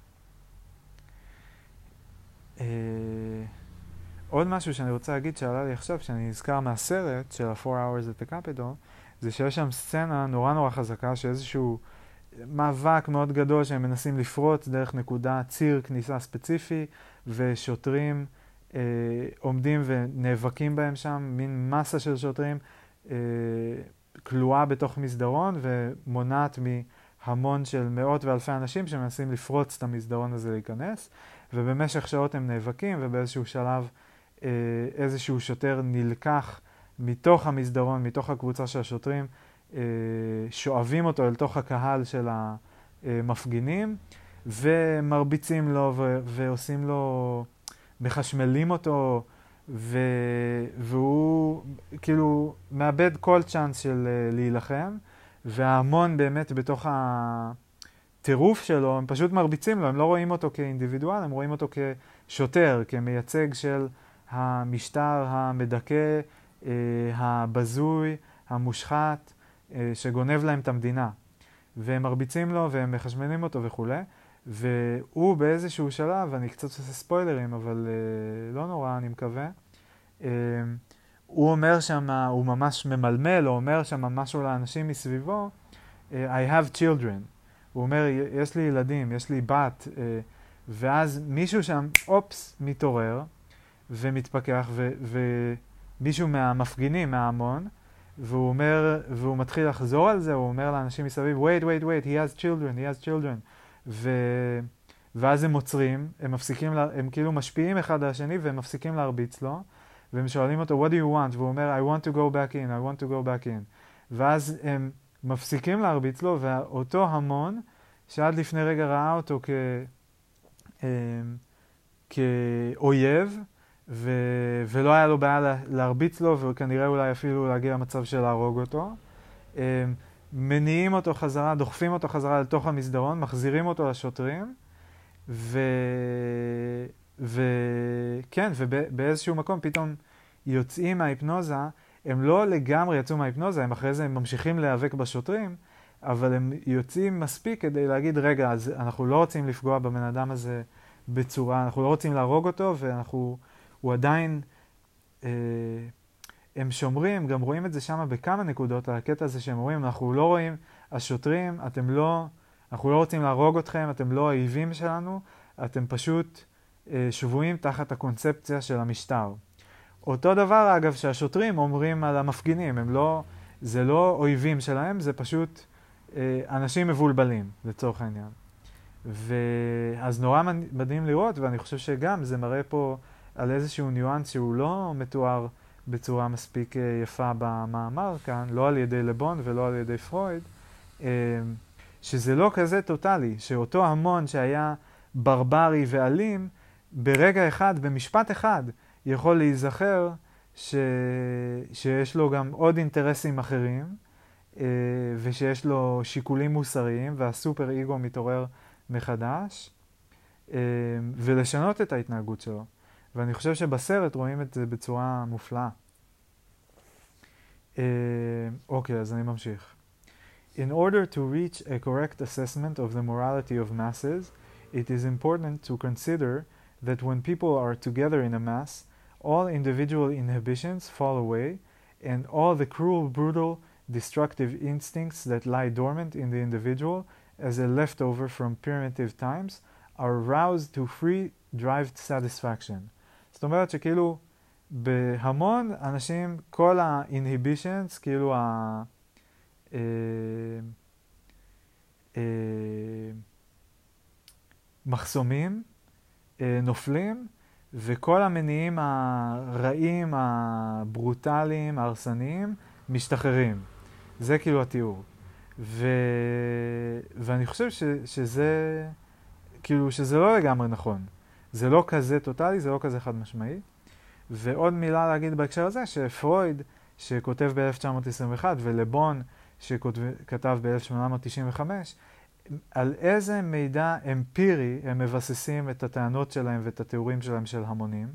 Uh, עוד משהו שאני רוצה להגיד שעלה לי עכשיו, שאני נזכר מהסרט של ה-four hours at the Capitol, זה שיש שם סצנה נורא נורא חזקה, שאיזשהו מאבק מאוד גדול שהם מנסים לפרוץ דרך נקודה, ציר כניסה ספציפי, ושוטרים אה, עומדים ונאבקים בהם שם, מין מסה של שוטרים אה, כלואה בתוך מסדרון, ומונעת מהמון של מאות ואלפי אנשים שמנסים לפרוץ את המסדרון הזה להיכנס, ובמשך שעות הם נאבקים, ובאיזשהו שלב אה, איזשהו שוטר נלקח מתוך המסדרון, מתוך הקבוצה של השוטרים, אה, שואבים אותו אל תוך הקהל של המפגינים, ומרביצים לו ו- ועושים לו, מחשמלים אותו, ו- והוא כאילו מאבד כל צ'אנס של אה, להילחם, וההמון באמת בתוך הטירוף שלו, הם פשוט מרביצים לו, הם לא רואים אותו כאינדיבידואל, הם רואים אותו כשוטר, כמייצג של המשטר המדכא, אה, הבזוי, המושחת, אה, שגונב להם את המדינה. והם מרביצים לו והם מחשמלים אותו וכו'. והוא באיזשהו שלב, אני קצת עושה ספוילרים, אבל אה, לא נורא, אני מקווה, אה, הוא אומר שם, הוא ממש ממלמל, הוא אומר שם משהו לאנשים מסביבו, I have children. הוא אומר, יש לי ילדים, יש לי בת, אה, ואז מישהו שם, אופס, מתעורר, ומתפכח, ו- ומישהו מהמפגינים, מההמון, והוא אומר, והוא מתחיל לחזור על זה, הוא אומר לאנשים מסביב, wait, wait, wait, he has children, he has children. ו- ואז הם עוצרים, הם מפסיקים, לה, הם כאילו משפיעים אחד על השני, והם מפסיקים להרביץ לו, והם שואלים אותו, what do you want? והוא אומר, I want to go back in, I want to go back in. ואז הם מפסיקים להרביץ לו, ואותו המון, שעד לפני רגע ראה אותו כ... כאויב, ו... ולא היה לו בעיה להרביץ לו, וכנראה אולי אפילו להגיע למצב של להרוג אותו. מניעים אותו חזרה, דוחפים אותו חזרה לתוך המסדרון, מחזירים אותו לשוטרים, ו... ו... כן, ובאיזשהו מקום פתאום יוצאים מההיפנוזה, הם לא לגמרי יצאו מההיפנוזה, הם אחרי זה הם ממשיכים להיאבק בשוטרים, אבל הם יוצאים מספיק כדי להגיד, רגע, אז אנחנו לא רוצים לפגוע בבן אדם הזה בצורה, אנחנו לא רוצים להרוג אותו, ואנחנו, הוא עדיין, אה, הם שומרים, גם רואים את זה שם בכמה נקודות, הקטע הזה שהם רואים, אנחנו לא רואים, השוטרים, אתם לא, אנחנו לא רוצים להרוג אתכם, אתם לא האויבים שלנו, אתם פשוט אה, שבויים תחת הקונספציה של המשטר. אותו דבר, אגב, שהשוטרים אומרים על המפגינים, הם לא, זה לא אויבים שלהם, זה פשוט אה, אנשים מבולבלים, לצורך העניין. ואז נורא מדהים לראות, ואני חושב שגם זה מראה פה על איזשהו ניואנס שהוא לא מתואר בצורה מספיק יפה במאמר כאן, לא על ידי לבון ולא על ידי פרויד, שזה לא כזה טוטלי, שאותו המון שהיה ברברי ואלים, ברגע אחד, במשפט אחד, יכול להיזכר ש... שיש לו גם עוד אינטרסים אחרים, ושיש לו שיקולים מוסריים, והסופר איגו מתעורר מחדש, ולשנות את ההתנהגות שלו. ואני חושב שבסרט רואים את זה בצורה מופלאה. אוקיי, אז אני ממשיך. In order to reach a correct assessment of the morality of masses, it is important to consider that when people are together in a mass, all individual inhibitions fall away, and all the cruel, brutal, destructive instincts that lie dormant in the individual as a leftover from primitive times are roused to free drive satisfaction. זאת אומרת שכאילו בהמון אנשים כל ה-inhibitions, כאילו ה... אה, אה, מחסומים, אה, נופלים, וכל המניעים הרעים, הברוטליים, ההרסניים, משתחררים. זה כאילו התיאור. ו... ואני חושב ש... שזה, כאילו שזה לא לגמרי נכון. זה לא כזה טוטלי, זה לא כזה חד משמעי. ועוד מילה להגיד בהקשר הזה, שפרויד, שכותב ב-אלף תשע מאות עשרים ואחת, ולבון, שכתב ב-אלף שמונה מאות תשעים וחמש, על איזה מידע אמפירי הם מבססים את הטענות שלהם ואת התיאורים שלהם של המונים.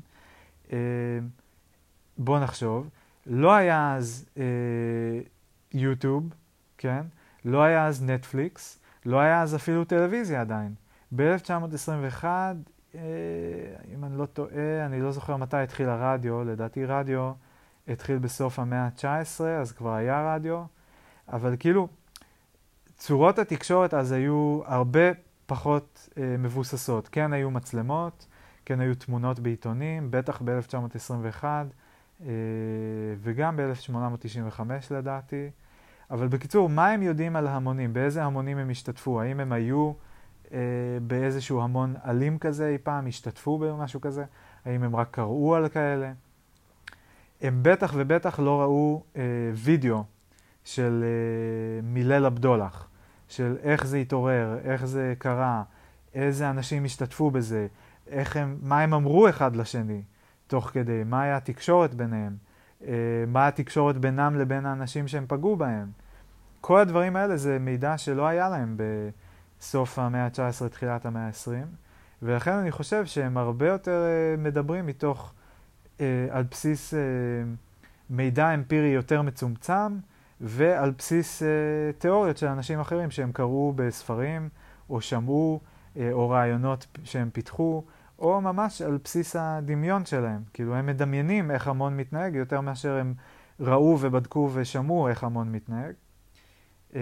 בוא נחשוב, לא היה אז יוטיוב, כן? לא היה אז נטפליקס, לא היה אז אפילו טלוויזיה עדיין. ב-אלף תשע מאות עשרים ואחת, אם אני לא טועה, אני לא זוכר מתי התחיל הרדיו, לדעתי רדיו התחיל בסוף המאה ה-תשע עשרה, אז כבר היה רדיו, אבל כאילו, צורות התקשורת אז היו הרבה פחות אה, מבוססות. כן היו מצלמות, כן היו תמונות בעיתונים, בטח ב-אלף תשע מאות עשרים ואחת אה, וגם ב-אלף שמונה מאות תשעים וחמש לדעתי. אבל בקיצור, מה הם יודעים על המונים? באיזה המונים הם השתתפו? האם הם היו אה, באיזשהו המון אלים כזה אי פעם? השתתפו במשהו כזה? האם הם רק קראו על כאלה? הם בטח ובטח לא ראו אה, וידאו של אה, מילל הבדולח, של איך זה התעורר, איך זה קרה, איזה אנשים השתתפו בזה, איך הם, מה הם אמרו אחד לשני תוך כדי, מה היה התקשורת ביניהם, אה, מה התקשורת בינם לבין האנשים שהם פגעו בהם. כל הדברים האלה זה מידע שלא היה להם בסוף המאה ה-תשע עשרה, תחילת המאה ה-עשרים, ולכן אני חושב שהם הרבה יותר אה, מדברים מתוך, אה, על בסיס אה, מידע אמפירי יותר מצומצם, ועל בסיס אה, תיאוריות של אנשים אחרים שהם קראו בספרים, או שמעו, אה, או רעיונות שהם פיתחו, או ממש על בסיס הדמיון שלהם. כאילו הם מדמיינים איך המון מתנהג, יותר מאשר הם ראו ובדקו ושמעו איך המון מתנהג. אה,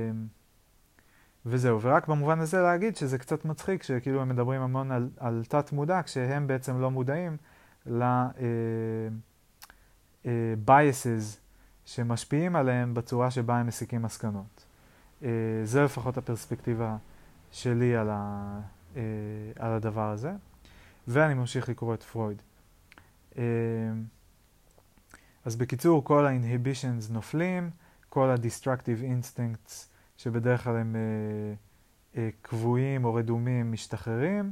וזהו, ורק במובן הזה להגיד שזה קצת מצחיק, שכאילו הם מדברים המון על, על תת מודע, כשהם בעצם לא מודעים ל-biases, שמשפיעים עליהם בצורה שבה הם מסיקים מסקנות. זה לפחות הפרספקטיבה שלי על, ה, על הדבר הזה. ואני ממשיך לקרוא את פרויד. אז בקיצור, כל ה-inhibitions נופלים, כל ה-destructive instincts שבדרך כלל הם קבועים או רדומים משתחררים,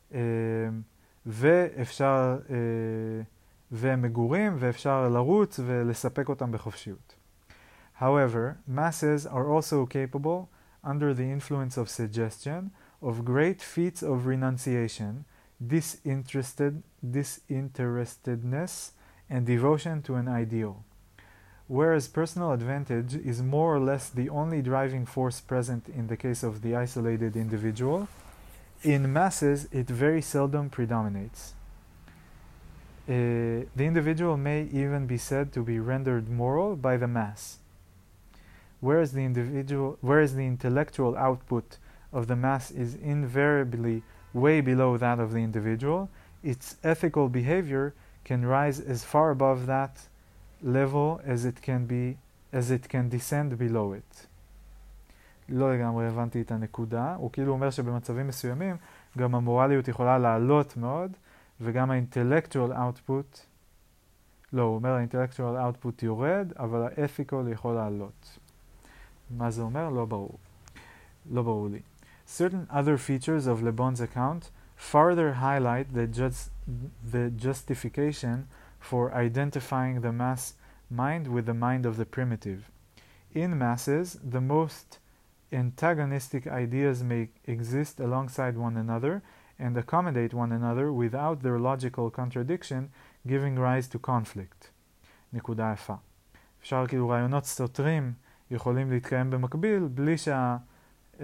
ואפשר... והם מגורים ואפשר לרוץ ולספק אותם בחופשיות. However, masses are also capable, under the influence of suggestion, of great feats of renunciation, disinterested, disinterestedness, and devotion to an ideal. Whereas personal advantage is more or less the only driving force present in the case of the isolated individual, in masses it very seldom predominates. Uh, the individual may even be said to be rendered moral by the mass. Whereas the individual, whereas the intellectual output of the mass is invariably way below that of the individual, its ethical behavior can rise as far above that level as it can be, as it can descend below it. לא לגמרי הבנתי את הנקודה. הוא כאילו אומר שבמצבים מסוימים גם המורליות יכולה לעלות מאוד, וגם ה-intellectual output, לא, הוא אומר ה-intellectual output יורד, אבל ה-ethical יכול לעלות. מה זה אומר? לא ברור. לא ברור לי. Certain other features of Le Bon's account further highlight the, just, the justification for identifying the mass mind with the mind of the primitive. In masses, the most antagonistic ideas may exist alongside one another and accommodate one another without their logical contradiction, giving rise to conflict. נקודה יפה. אפשר כאילו רעיונות סותרים יכולים להתקיים במקביל, בלי שה... אה,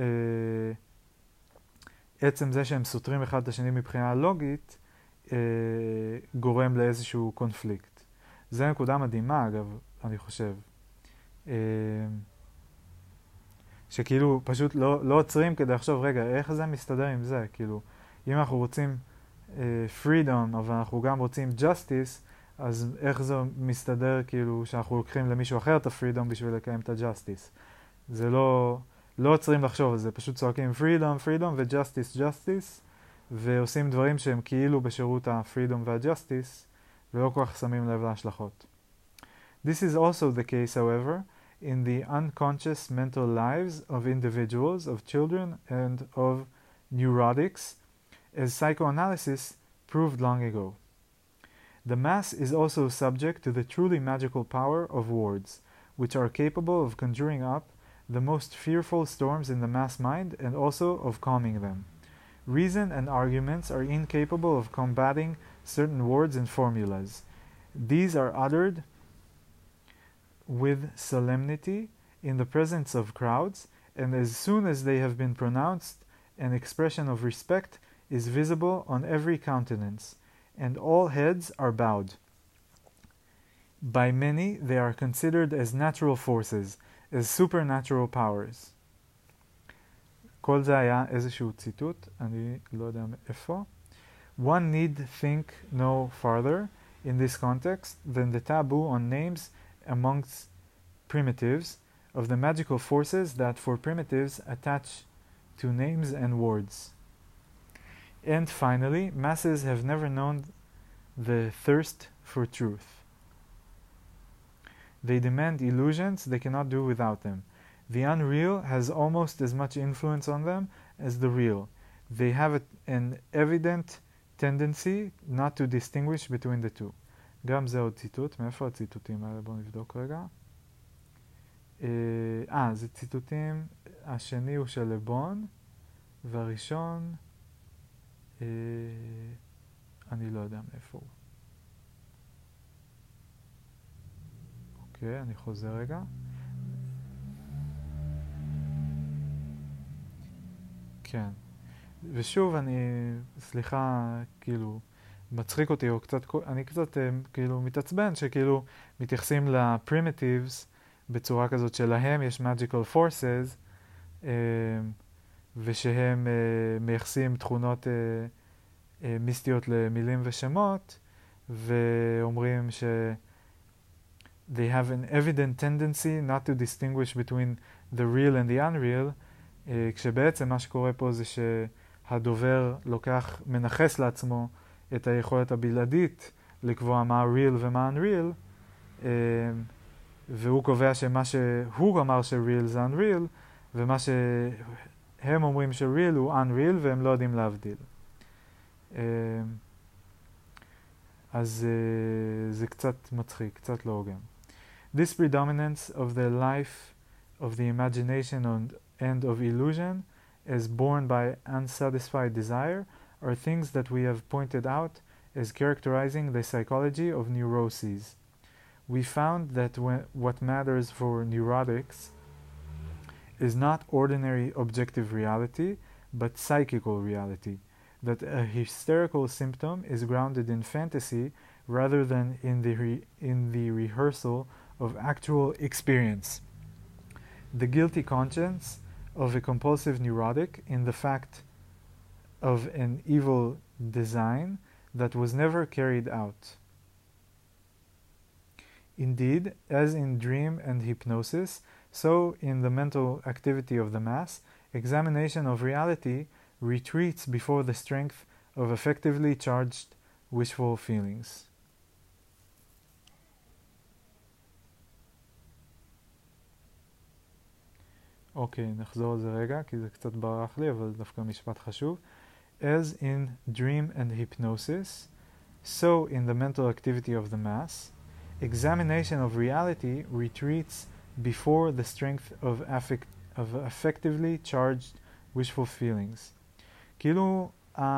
עצם זה שהם סותרים אחד את השני מבחינה לוגית, אה, גורם לאיזשהו קונפליקט. זה נקודה מדהימה, אגב, אני חושב. שכאילו פשוט לא, לא עוצרים כדי לחשוב, רגע, איך זה מסתדר עם זה? כאילו, אם אנחנו רוצים uh, freedom, אבל אנחנו גם רוצים justice, אז איך זה מסתדר כאילו שאנחנו לוקחים למישהו אחר את ה-freedom בשביל לקיים את ה-justice? זה לא, לא עוצרים לחשוב על זה, פשוט צועקים freedom, freedom ו-justice, justice, ועושים דברים שהם כאילו בשירות ה-freedom וה-justice, ולא כל כך שמים לב להשלכות. This is also the case, however, in the unconscious mental lives of individuals, of children, and of neurotics, as psychoanalysis proved long ago. The mass is also subject to the truly magical power of words, which are capable of conjuring up the most fearful storms in the mass mind and also of calming them. Reason and arguments are incapable of combating certain words and formulas. These are uttered with solemnity in the presence of crowds, and as soon as they have been pronounced, an expression of respect is visible on every countenance, and all heads are bowed. By many they are considered as natural forces, as supernatural powers. כל זה היה איזשהו ציטוט, אני לא יודע מאיפה. One need think no farther in this context than the taboo on names amongst primitives of the magical forces that for primitives attach to names and words. And finally, masses have never known the thirst for truth. They demand illusions they cannot do without them. The unreal has almost as much influence on them as the real. They have a, an evident tendency not to distinguish between the two. גם זה עוד ציטוט. מאיפה הציטוטים האלה? בואו נבדוק רגע. אה, זה ציטוטים. השני הוא של לבון, והראשון, אה, אני לא יודע מאיפה הוא. אוקיי, אני חוזר רגע. כן. ושוב, אני, סליחה, כאילו, מצחיק אותי, או קצת, אני קצת כאילו מתעצבן שכאילו מתייחסים לפרימיטיבס בצורה כזאת שלהם יש magical forces, ושהם מייחסים תכונות מיסטיות למילים ושמות, ואומרים ש they have an evident tendency not to distinguish between the real and the unreal, כשבעצם מה שקורה פה זה שהדובר לוקח, מנחס לעצמו את היכולת הבלעדית לקבוע מה real ומה unreal, והוא קובע שמה שהוא אמר ש-real זה unreal, ומה שהם אומרים ש-real הוא unreal, והם לא יודעים להבדיל. אז זה קצת מצחיק, קצת לא הוגן. This predominance of the life of the imagination and of illusion as born by unsatisfied desire are things that we have pointed out as characterizing the psychology of neuroses. We found that when, what matters for neurotics is not ordinary objective reality, but psychical reality, that a hysterical symptom is grounded in fantasy rather than in the, re, in the rehearsal of actual experience. The guilty conscience of a compulsive neurotic in the fact of an evil design that was never carried out. Indeed, as in dream and hypnosis, so in the mental activity of the mass, examination of reality retreats before the strength of effectively charged wishful feelings. אוקיי, נחזור על זה רגע, כי זה קצת ברח לי, אבל דווקא משפט חשוב. As in dream and hypnosis, so in the mental activity of the mass, examination of reality retreats before the strength of, affect, of effectively charged wishful feelings. כאילו,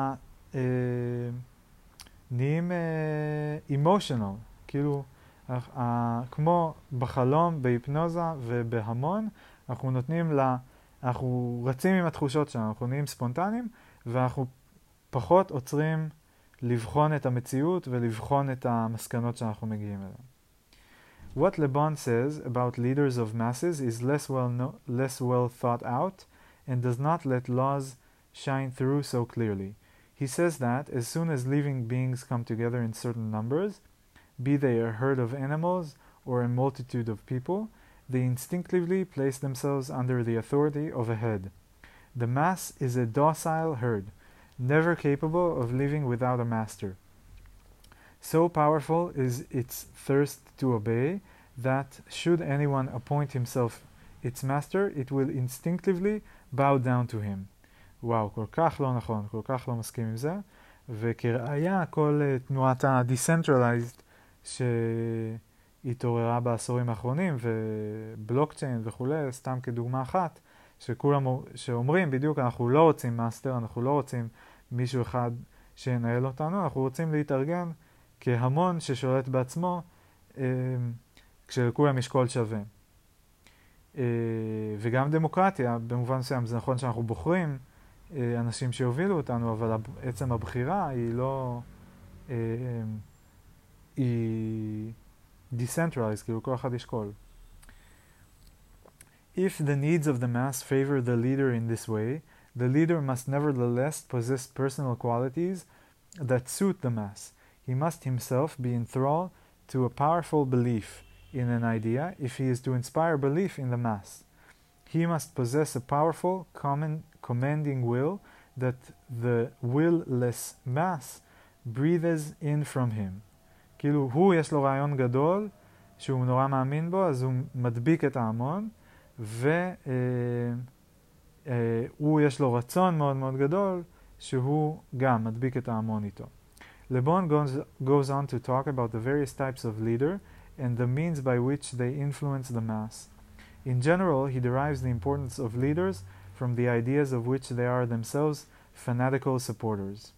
נהיים emotional, כאילו, כמו בחלום, בהיפנוזה ובהמון, אנחנו נותנים לה, אנחנו רצים עם התחושות שלנו, אנחנו נהיים ספונטניים, ואנחנו פחות עוצרים לבחון את המציאות ולבחון את המסקנות שאנחנו מגיעים אליהן. What Le Bon says about leaders of masses is less well, no- less well thought out and does not let laws shine through so clearly. He says that as soon as living beings come together in certain numbers, be they a herd of animals or a multitude of people, they instinctively place themselves under the authority of a head. The mass is a docile herd, never capable of living without a master. So powerful is its thirst to obey that should anyone appoint himself its master, it will instinctively bow down to him. וואו, כל כך לא נכון, כל כך לא מסכים עם זה. וכראיה, כל uh, תנועת ה-decentralized שהתעוררה בעשורים האחרונים, ובלוקצ'יין וכולי, סתם כדוגמה אחת, שכולם שאומרים בדיוק, אנחנו לא רוצים מאסטר, אנחנו לא רוצים מישהו אחד שינהל אותנו, אנחנו רוצים להתארגן כהמון ששולט בעצמו, אה, כשלכולם יש קול שווה. אה, וגם דמוקרטיה, במובן מסוים, זה נכון שאנחנו בוחרים אה, אנשים שיובילו אותנו, אבל עצם הבחירה היא לא... אה, היא decentralized, כאילו כל אחד יש קול. If the needs of the mass favor the leader in this way, the leader must nevertheless possess personal qualities that suit the mass. He must himself be enthralled to a powerful belief in an idea if he is to inspire belief in the mass. He must possess a powerful, common, commanding will that the will-less mass breathes in from him. כאילו, הוא יש לו רעיון גדול, שהוא נורא מאמין בו, אז הוא מדביק את ההמון, והוא יש לו רצון מאוד מאוד גדול, שהוא גם מדביק את ההמון איתו. Le Bon goes, goes on to talk about the various types of leader and the means by which they influence the mass. In general, he derives the importance of leaders from the ideas of which they are themselves fanatical supporters.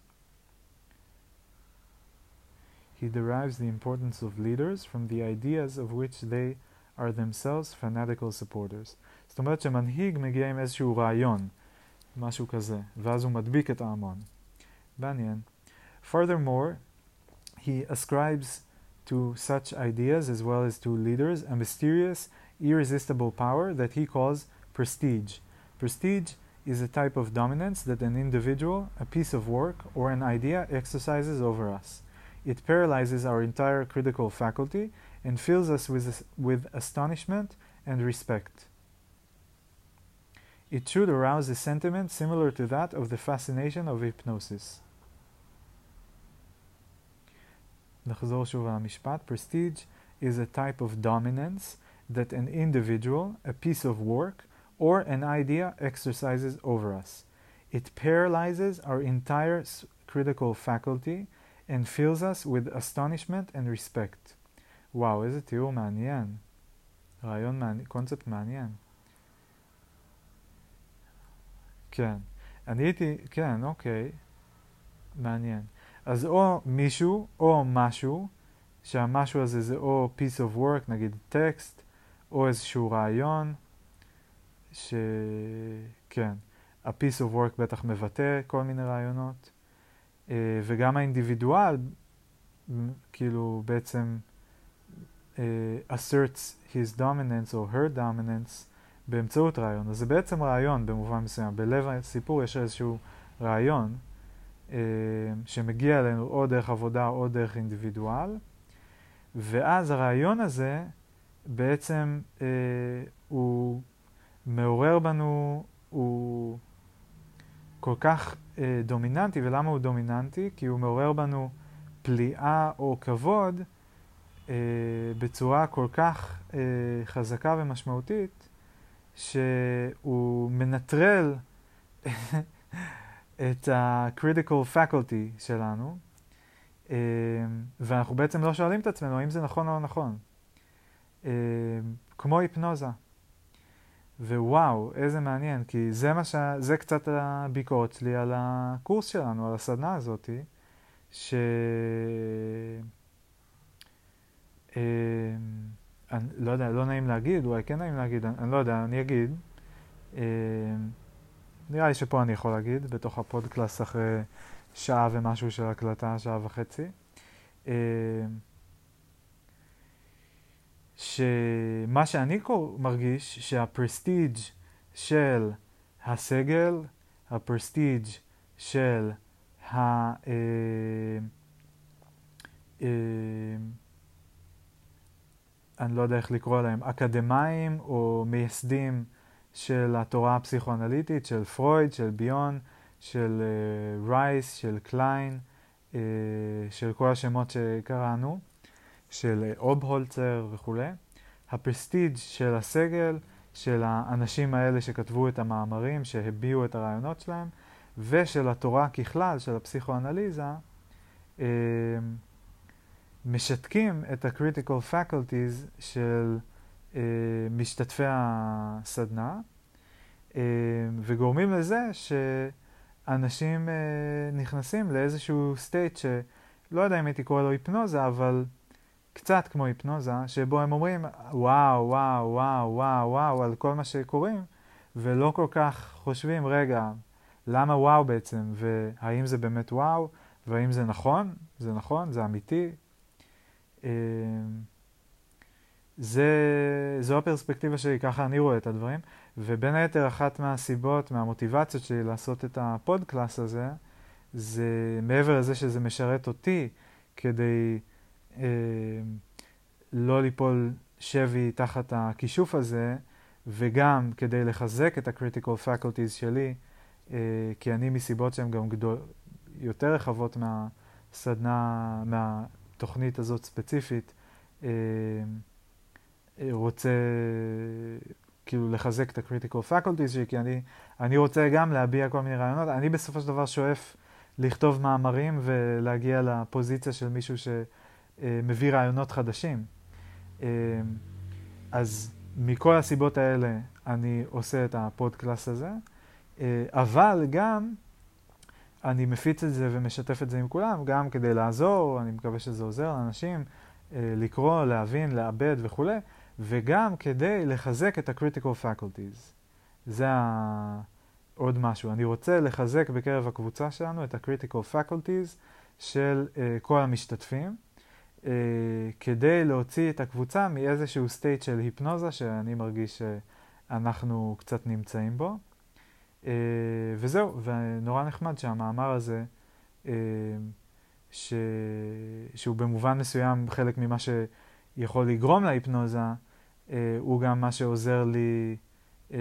He derives the importance of leaders from the ideas of which they are themselves fanatical supporters. זאת אומרת שמנהיג מגיע עם איזשהו רעיון, משהו כזה, ואז הוא מדביק את ההמון. מעניין. Furthermore, he ascribes to such ideas as well as to leaders a mysterious, irresistible power that he calls prestige. Prestige is a type of dominance that an individual, a piece of work, or an idea exercises over us. It paralyzes our entire critical faculty and fills us with, with astonishment and respect. It should arouse a sentiment similar to that of the fascination of hypnosis. נחזור שוב על המשפט. Prestige is a type of dominance that an individual, a piece of work, or an idea exercises over us. It paralyzes our entire critical faculty and fills us with astonishment and respect. וואו, איזה תיאור מעניין. רעיון מעניין, קונספט מעניין. כן. אני הייתי, כן, אוקיי. מעניין. אז או מישהו, או משהו, שהמשהו הזה זה או piece of work, נגיד טקסט, או איזשהו רעיון, שכן, ה-piece of work בטח מבטא כל מיני רעיונות, וגם האינדיבידואל, כאילו בעצם uh, asserts his dominance או her dominance באמצעות רעיון. אז זה בעצם רעיון במובן מסוים. בלב הסיפור יש איזשהו רעיון uh, שמגיע אלינו או דרך עבודה או דרך אינדיבידואל, ואז הרעיון הזה בעצם uh, הוא מעורר בנו, הוא כל כך uh, דומיננטי. ולמה הוא דומיננטי? כי הוא מעורר בנו פליאה או כבוד uh, בצורה כל כך uh, חזקה ומשמעותית, שהוא מנטרל את ה-critical faculty שלנו, uh, ואנחנו בעצם לא שואלים את עצמנו האם זה נכון או לא נכון. Uh, כמו היפנוזה. ווואו, איזה מעניין, כי זה, מה ש... זה קצת הביקורת שלי על הקורס שלנו, על הסדנה הזאת, ש... אה, אני לא יודע, לא נעים להגיד, אולי כן נעים להגיד, אני, אני לא יודע, אני אגיד. אה, נראה לי שפה אני יכול להגיד, בתוך הפודקלאסט אחרי שעה ומשהו של הקלטה, שעה וחצי. אה, שמה שאני מרגיש שהפרסטיג' של הסגל, הפרסטיג' של ה... אה, אה, אני לא יודע איך לקרוא להם, אקדמאים או מייסדים של התורה הפסיכואנליטית, של פרויד, של ביון, של uh, רייס, של קליין, uh, של כל השמות שקראנו, של אובהולצר וכו'. הפרסטיג' של הסגל, של האנשים האלה שכתבו את המאמרים, שהביעו את הרעיונות שלהם, ושל התורה ככלל, של הפסיכואנליזה, uh, משתקים את ה-critical faculties של uh, משתתפי הסדנה, uh, וגורמים לזה שאנשים uh, נכנסים לאיזשהו state שלא יודע אם הייתי קורא לו היפנוזה, אבל קצת כמו היפנוזה, שבו הם אומרים וואו, וואו, וואו, וואו, וואו, על כל מה שקוראים, ולא כל כך חושבים, רגע, למה וואו בעצם, והאם זה באמת וואו, והאם זה נכון, זה נכון, זה אמיתי, זה, זו הפרספקטיבה שלי, ככה אני רואה את הדברים, ובין היתר אחת מהסיבות, מהמוטיבציות שלי לעשות את הפודקלאס הזה, זה מעבר לזה שזה משרת אותי כדי אה, לא ליפול שבי תחת הכישוף הזה, וגם כדי לחזק את ה-critical faculties שלי, אה, כי אני מסיבות שהן גם גדול, יותר רחבות מהסדנה, מה... התוכנית הזאת ספציפית, אה, רוצה כאילו לחזק את ה-critical faculties שלי, כי אני, אני רוצה גם להביע כל מיני רעיונות. אני בסופו של דבר שואף לכתוב מאמרים ולהגיע לפוזיציה של מישהו שמביא רעיונות חדשים. אה, אז מכל הסיבות האלה אני עושה את הפודקלאס הזה, אה, אבל גם אני מפיץ את זה ומשתף את זה עם כולם, גם כדי לעזור, אני מקווה שזה עוזר לאנשים, לקרוא, להבין, לעבד וכו', וגם כדי לחזק את ה-critical faculties. זה עוד משהו. אני רוצה לחזק בקרב הקבוצה שלנו את ה-critical faculties של כל המשתתפים, כדי להוציא את הקבוצה מאיזשהו state של היפנוזה, שאני מרגיש שאנחנו קצת נמצאים בו. Uh, וזהו, ונורא נחמד שהמאמר הזה, uh, ש... שהוא במובן מסוים חלק ממה שיכול לגרום להיפנוזה, uh, הוא גם מה שעוזר לי uh,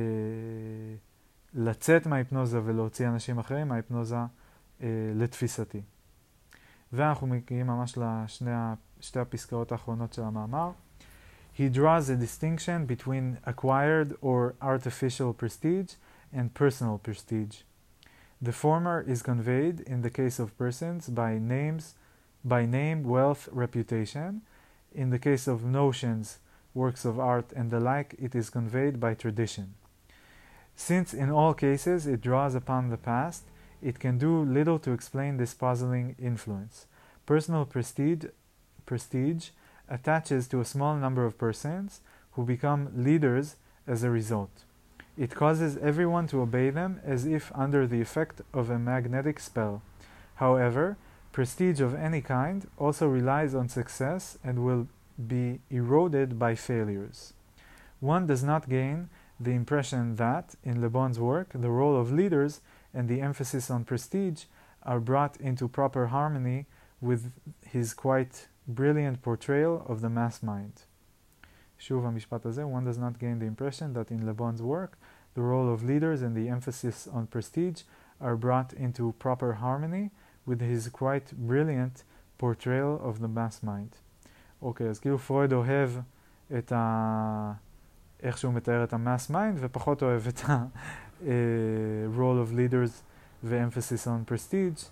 לצאת מההיפנוזה ולהוציא אנשים אחרים מההיפנוזה uh, לתפיסתי. ואנחנו מגיעים ממש לשתי הפסקאות האחרונות של המאמר. He draws a distinction between acquired or artificial prestige and personal prestige. The former is conveyed in the case of persons by names, by name, wealth, reputation. In the case of notions, works of art and the like, it is conveyed by tradition. Since in all cases it draws upon the past, it can do little to explain this puzzling influence. Personal prestige, prestige attaches to a small number of persons who become leaders as a result. It causes everyone to obey them as if under the effect of a magnetic spell. However, prestige of any kind also relies on success and will be eroded by failures. One does not gain the impression that, in Le Bon's work, the role of leaders and the emphasis on prestige are brought into proper harmony with his quite brilliant portrayal of the mass mind. שוב המשפט הזה, one does not gain the impression that in Le Bon's work, the role of leaders and the emphasis on prestige are brought into proper harmony with his quite brilliant portrayal of the mass mind. אוקיי, אז כאילו פרויד אוהב את ה... איך שהוא מתאר את ה-mass mind, ופחות אוהב את ה-role of leaders ו-emphasis on prestige.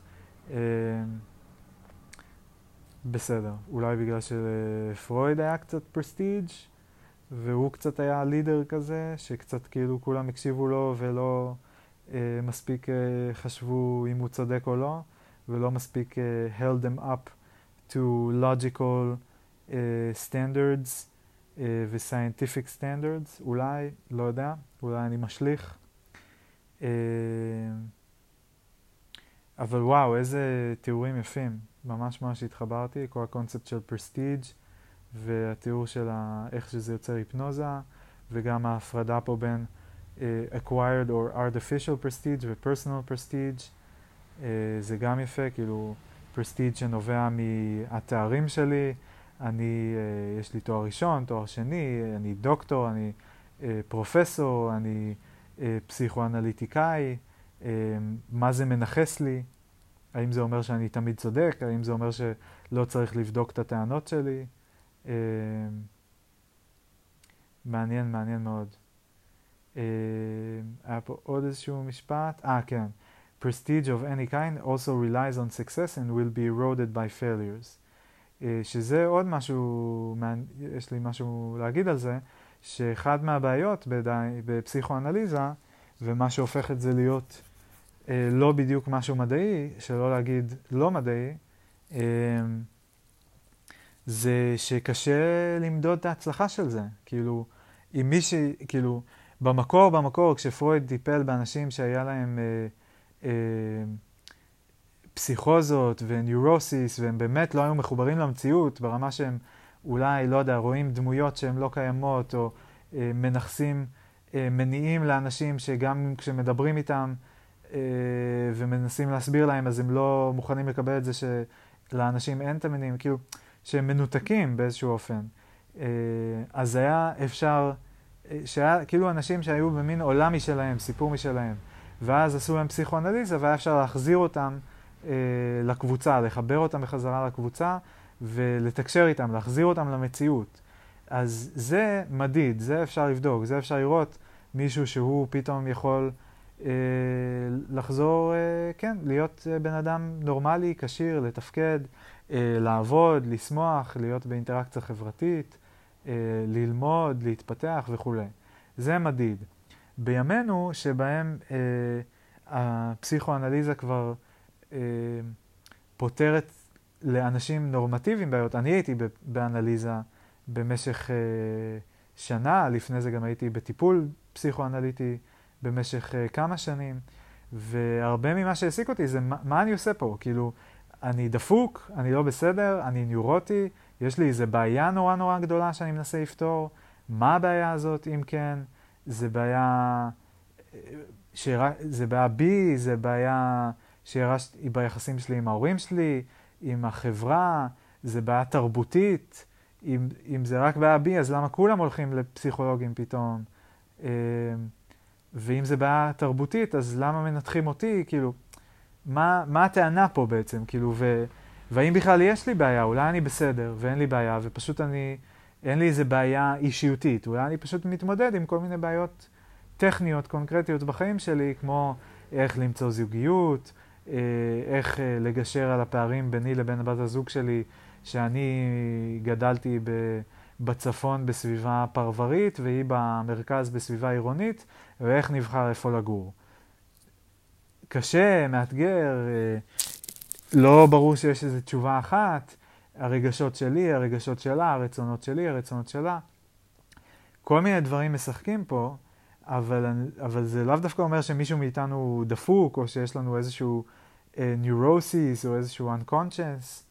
בסדר, אולי בגלל שלפרויד היה קצת prestige, והוא קצת היה לידר כזה, שקצת כאילו כולם הקשיבו לו ולא אה, מספיק אה, חשבו אם הוא צודק או לא, ולא מספיק אה, held them up to logical אה, standards אה, ו-scientific standards, אולי, לא יודע, אולי אני משליך. אה, אבל וואו, איזה תיאורים יפים, ממש ממש התחברתי, כל הקונספט של prestige, והתיאור של איך שזה יוצר היפנוזה, וגם ההפרדה פה בין uh, acquired or artificial prestige ו-personal prestige. uh, זה גם יפה, כאילו prestige שנובע מהתארים שלי. אני, uh, יש לי תואר ראשון, תואר שני, אני דוקטור, אני uh, פרופסור, אני uh, פסיכואנליטיקאי. uh, מה זה מנחס לי? האם זה אומר שאני תמיד צודק? האם זה אומר שלא צריך לבדוק את הטענות שלי? Uh, מעניין, מעניין מאוד. Uh, היה פה עוד איזשהו משפט. אה, כן. Prestige of any kind also relies on success and will be eroded by failures. Uh, שזה עוד משהו, יש לי משהו להגיד על זה, שאחד מהבעיות בדי, בפסיכואנליזה, ומה שהופך את זה להיות uh, לא בדיוק משהו מדעי, שלא להגיד לא מדעי, uh, זה שקשה למדוד את ההצלחה של זה. כאילו, אם מישהי, כאילו, במקור, במקור, כשפרויד טיפל באנשים שהיה להם אה, אה, פסיכוזות וניורוסיס, והם באמת לא היו מחוברים למציאות, ברמה שהם אולי, לא יודע, רואים דמויות שהן לא קיימות, או אה, מנחסים אה, מניעים לאנשים שגם כשמדברים איתם אה, ומנסים להסביר להם, אז הם לא מוכנים לקבל את זה שלאנשים אין את המניעים, כאילו, שהם מנותקים באיזשהו אופן. אז היה אפשר, שהיה כאילו אנשים שהיו במין עולם משלהם, סיפור משלהם, ואז עשו להם פסיכואנליזה, והיה אפשר להחזיר אותם אה, לקבוצה, לחבר אותם בחזרה לקבוצה, ולתקשר איתם, להחזיר אותם למציאות. אז זה מדיד, זה אפשר לבדוק, זה אפשר לראות מישהו שהוא פתאום יכול אה, לחזור, אה, כן, להיות בן אדם נורמלי, קשיר, לתפקד, לעבוד, לשמוח, להיות באינטראקציה חברתית, ללמוד, להתפתח וכו'. זה מדיד. בימינו שבהם אה, הפסיכואנליזה כבר אה, פותרת לאנשים נורמטיביים בעיות. אני הייתי באנליזה במשך אה, שנה, לפני זה גם הייתי בטיפול פסיכואנליטי במשך אה, כמה שנים, והרבה ממה שהעסיק אותי זה מה, מה אני עושה פה, כאילו, אני דפוק, אני לא בסדר, אני ניורוטי, יש לי איזו בעיה נורא נורא גדולה שאני מנסה לפתור. מה הבעיה הזאת, אם כן? זה בעיה, שיר... זה בעיה בי, זה בעיה שהרשתי ביחסים שלי עם ההורים שלי, עם החברה, זה בעיה תרבותית. אם, אם זה רק בעיה בי, אז למה כולם הולכים לפסיכולוגים פתאום? ואם זה בעיה תרבותית, אז למה מנתחים אותי? כאילו, מה, מה הטענה פה בעצם? כאילו, ו, והאם בכלל יש לי בעיה? אולי אני בסדר ואין לי בעיה, ופשוט אני, אין לי איזה בעיה אישיותית. אולי אני פשוט מתמודד עם כל מיני בעיות טכניות, קונקרטיות בחיים שלי, כמו איך למצוא זוגיות, איך לגשר על הפערים ביני לבין בת הזוג שלי, שאני גדלתי בצפון בסביבה פרברית, והיא במרכז בסביבה עירונית, ואיך נבחר איפה לגור. קשה, מאתגר, לא ברור שיש איזו תשובה אחת, הרגשות שלי, הרגשות שלה, הרצונות שלי, הרצונות שלה. כל מיני דברים משחקים פה, אבל, אבל זה לאו דווקא אומר שמישהו מאיתנו דפוק, או שיש לנו איזשהו neurosis או איזשהו unconscious,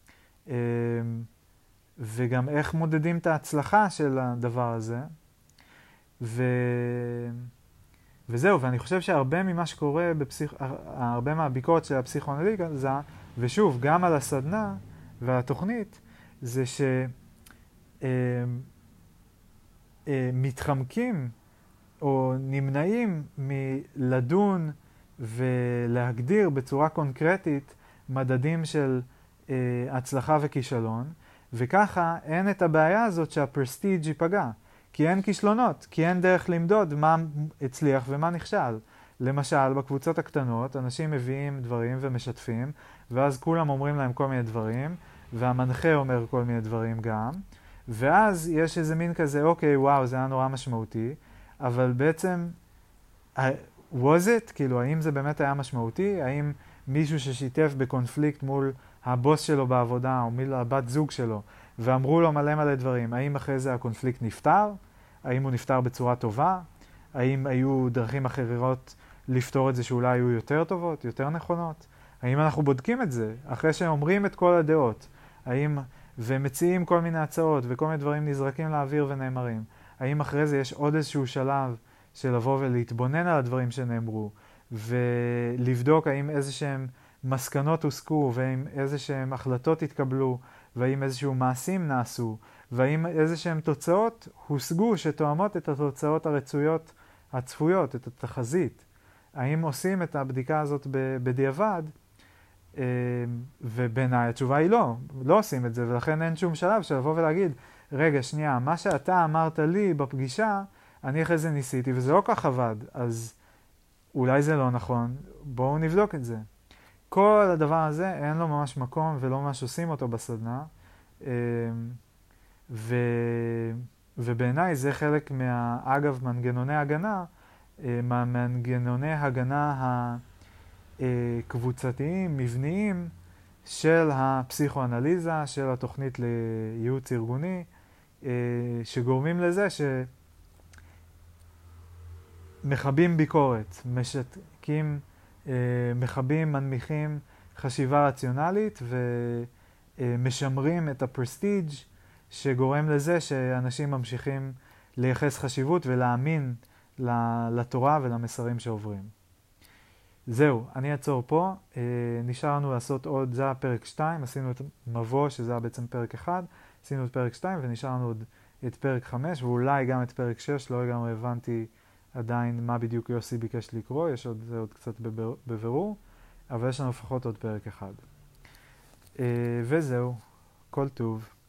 וגם איך מודדים את ההצלחה של הדבר הזה. ו... וזהו, ואני חושב שהרבה ממה שקורה, בפסיכ... הרבה מהביקורת של הפסיכואנליזה, ושוב, גם על הסדנה והתוכנית, זה שמתחמקים או נמנעים מלדון ולהגדיר בצורה קונקרטית מדדים של אה, הצלחה וכישלון, וככה אין את הבעיה הזאת שהפרסטיג' ייפגע, כי אין כישלונות, כי אין דרך למדוד מה הצליח ומה נכשל. למשל, בקבוצות הקטנות, אנשים מביאים דברים ומשתפים, ואז כולם אומרים להם כל מיני דברים, והמנחה אומר כל מיני דברים גם, ואז יש איזה מין כזה, אוקיי, וואו, זה היה נורא משמעותי, אבל בעצם, was it? כאילו, האם זה באמת היה משמעותי? האם מישהו ששיתף בקונפליקט מול הבוס שלו בעבודה, או מול הבת זוג שלו, ואמרו לו מלא מלא דברים, האם אחרי זה הקונפליקט נפתר? האם הוא נפתר בצורה טובה? האם היו דרכים אחרות לפתור את זה שאולי היו יותר טובות, יותר נכונות? האם אנחנו בודקים את זה אחרי שאומרים את כל הדעות? האם ומציעים כל מיני הצעות, וכל מיני דברים נזרקים לאוויר ונאמרים. האם אחרי זה יש עוד איזשהו שלב של לבוא ולהתבונן על הדברים שנאמרו, ולבדוק האם איזשהם מסקנות הוסקו, והאם איזשהם החלטות התקבלו, והאם איזשהו מעשים נעשו, והאם איזשהם תוצאות הושגו שתואמות את התוצאות הרצויות הצפויות, את התחזית. האם עושים את הבדיקה הזאת בדיעבד, ובעיניי התשובה היא לא, לא עושים את זה, ולכן אין שום שלב של לבוא ולהגיד, רגע, שנייה, מה שאתה אמרת לי בפגישה, אני אחרי זה ניסיתי, וזה לא כך עבד, אז אולי זה לא נכון, בואו נבדוק את זה. כל הדבר הזה אין לו ממש מקום ולא ממש עושים אותו בסדנה, ו... ובעיניי זה חלק מה... אגב, מנגנוני הגנה, מהמנגנוני הגנה הקבוצתיים, מבניים, של הפסיכואנליזה, של התוכנית לייעוץ ארגוני, שגורמים לזה שמחבים ביקורת, משתקים, מחבים, מנמיכים חשיבה רציונלית ומשמרים את הפרסטיג' שגורם לזה שאנשים ממשיכים לייחס חשיבות ולהאמין לתורה ולמסרים שעוברים. זהו, אני אעצור פה. נשאר לנו לעשות עוד, זה היה פרק שתיים, עשינו את מבוא שזה היה בעצם פרק אחד, עשינו את פרק שתיים ונשאר לנו עוד את פרק חמש ואולי גם את פרק שש, לא לגמרי הבנתי עדיין מה בדיוק יוסי ביקש לקרוא, יש עוד, זה עוד קצת בבירור, אבל יש לנו לפחות עוד פרק אחד. וזהו, כל טוב.